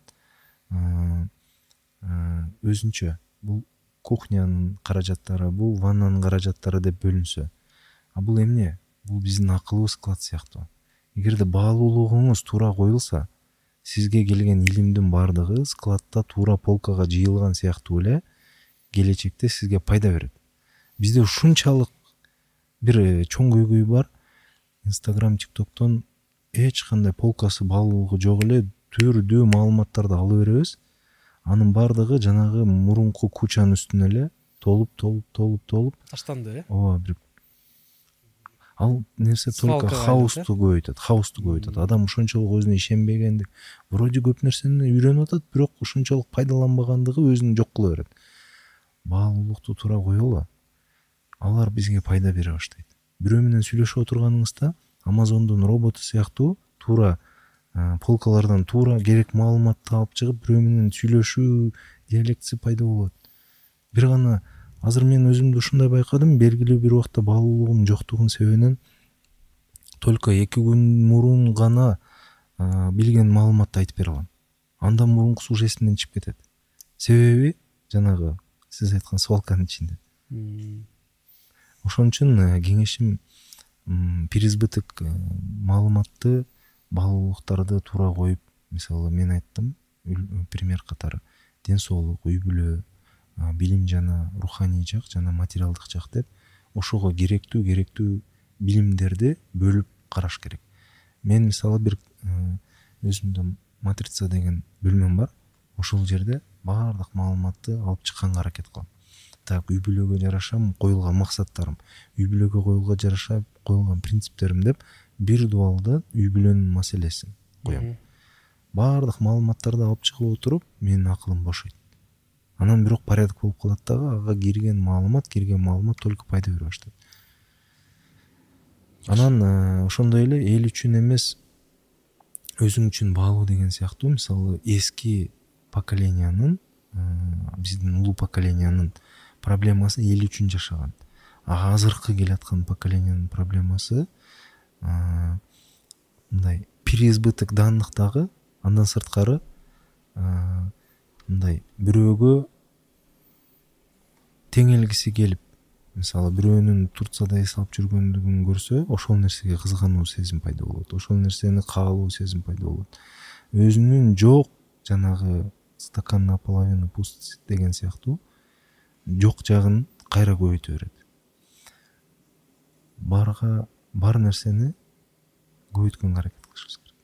өзүнчө бул кухнянын каражаттары, бул ваннанын каражаттары деп бөлүнсө. А бул эмне? Бул биздин акылыбыз склад сыяктуу. Эгерде баалуулугуңуз туура коюлса, сизге келген илимдин баардыгы складта туура полкага жыйылган сыяктуу эле келечекте сизге пайда берет. Бизде ушунчалык бир чоң көйгөй бар. Инстаграм, тиктоктон эч кандай полкасы баалуулугу жок эле түрдүү маалыматтарды алып беребиз. Анын баардыгы жанагы мурунку кучанын үстүнө эле толуп, толуп, толуп, толуп таштанды, э? Ооба, бир ал нерсе только хаосту көбөйтөт, хаосту көбөйтөт. Адам ушунчалык өзүнө ишенбегендик, вроде көп нерсени үйрөнүп атат, бирок ушунчалык пайдаланбагандыгы өзүн жок кыла берет. Баалуулукту туура коелу. Алар бизге пайда бере баштайт. Бирөө менен сүйлөшүп отурганыңызда Amazondун роботу сыяктуу туура полкалардан туура керек маалыматты алып чыгып, бирөө менен сүйлөшүү диалектиси пайда болот. Бир гана азыр мен өзүмдү ушундай байкадым, белгилүү бир убакта баалуулугум жоктугунун себебинен только эки күн мурун гана билген маалыматты айтып бере алам. Андан мурункусу уже эсимден чыгып кетет. Себеби жанагы сиз айткан свалканын ичинде. ошон үчүн кеңешим переизбыток маалыматты баалуулуктарды туура коюп, мисалы мен айттым пример катары ден соолук, үй бүлө, билим жана руханий жак жана материалдык жак деп ошого керектүү керектүү билимдерди бөлүп караш керек. Мен мисалы бир өзүмдө матрица деген бөлмөм бар. Ошол жерде баардык маалыматты алып чыкканга аракет кылам. Так, үй бүлөгө жараша коюлган максаттарым, үй бүлөгө коюлган жараша коюлган принциптерим деп бир дуалда үй бүлөнүн маселесин коем. Баардык маалыматтарды алып чыгып отуруп, менин акылым бошойт. Анан бирок порядок болуп калат дагы, ага кирген маалымат, кирген маалымат только пайда бере баштайт. Анан ошондой эле эл үчүн эмес, өзүң үчүн баалуу деген сыяктуу, мисалы эски поколениянын, биздин улуу поколениянын проблемасы эл үчүн жашаган. А азыркы келаткан поколениянын проблемасы мындай переизбыток даандыктагы, андан сырткары мындай бирөөгө теңелгиси келип, мисалы бирөөнүн Турцияда эс алып жүргөндүгүн көрсө, ошол нерсеге кызгануу сезим пайда болот. Ошол нерсени каалоо сезим пайда болот. Өзүнүн жок жанагы стакан наполовину пуст деген сыяктуу жок жагын кайра көбөйтө берет. Барга бар нерсени көбөйткөнгө аракет кылышыбыз керек.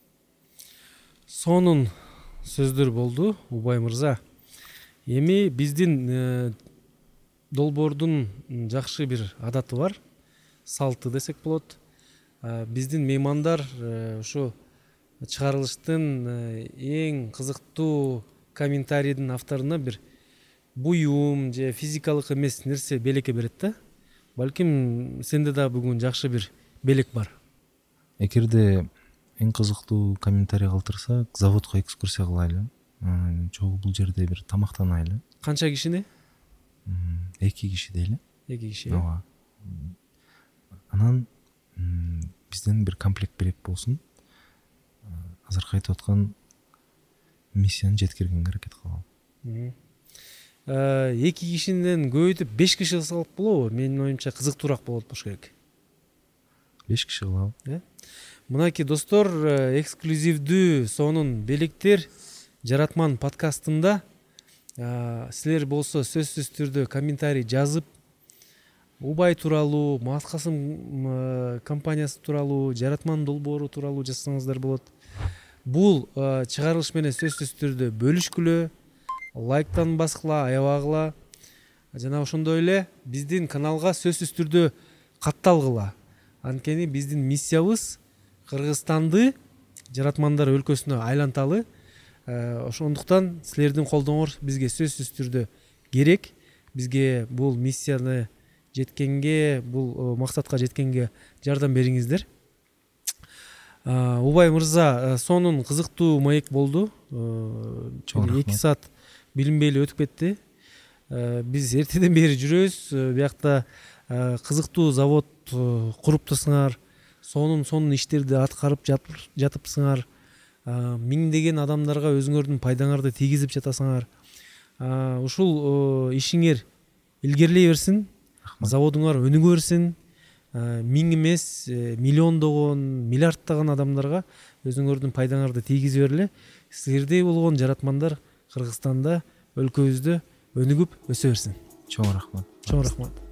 Сонун сөздөр болду, Убай мырза. Эми биздин долбоордун жакшы бир адаты бар, салты десек болот. Биздин меймандар ошо чыгарылыштын эң кызыктуу комментарийдин авторуна бир буюм же физикалык эмес нерсе белекке берет да. Балким сенде да бүгүн жакшы бир белек бар. Эгерде эң кызыктуу комментарий калтырсак, заводко экскурсия кылайлы. Чогуу бул жерде бир тамактанайлы. Канча кишини? Эки киши дейли. Эки киши. Ооба. Анан бизден бир комплект белек болсун. Азыркы айтып аткан миссияны жеткиргенге аракет кылалы. Эки кишиден көбөйтүп беш киши кылсак болобу? Менин оюмча кызыктуураак болот болуш керек. беш киши кылалы. Э? Мынакей достор, эксклюзивдүү сонун белектер Жаратман подкастында. Силер болсо сөзсүз түрдө комментарий жазып, Убай тууралуу, Мат Касым компаниясы тууралуу, Жаратман долбоору тууралуу жазсаңыздар болот. Бул чыгарылыш менен сөзсүз түрдө бөлүшкүлө, лайктан баскыла, аябагыла. Жана ошондой эле биздин каналга сөзсүз түрдө катталгыла. Анткени биздин миссиябыз Кыргызстанды жаратмандар өлкөсүнө айланталы. Ошондуктан силердин колдооңор бизге сөзсүз түрдө керек. Бизге бул миссияны жеткенге, бул максатка жеткенге жардам бериңиздер. Убай мырза, сонун кызыктуу маек болду. эки саат билинбей эле өтүп кетти. Биз эртеден бери жүрөбүз. Биякта кызыктуу завод куруптусуңар, сонун сонун иштерди аткарып жатыпсыңар. Миңдеген адамдарга өзүңөрдүн пайдаңарды тийгизип жатасыңар. Ушул ишиңер илгерилей берсин, заводуңар өнүгө берсин. Миң эмес, миллиондогон, миллиарддаган адамдарга өзүңөрдүн пайдаңарды тийгизип бергиле. Силердей болгон жаратмандар Кыргызстанда, өлкөбүздө өнүгүп өсө берсин. Чоң рахмат. Чоң рахмат.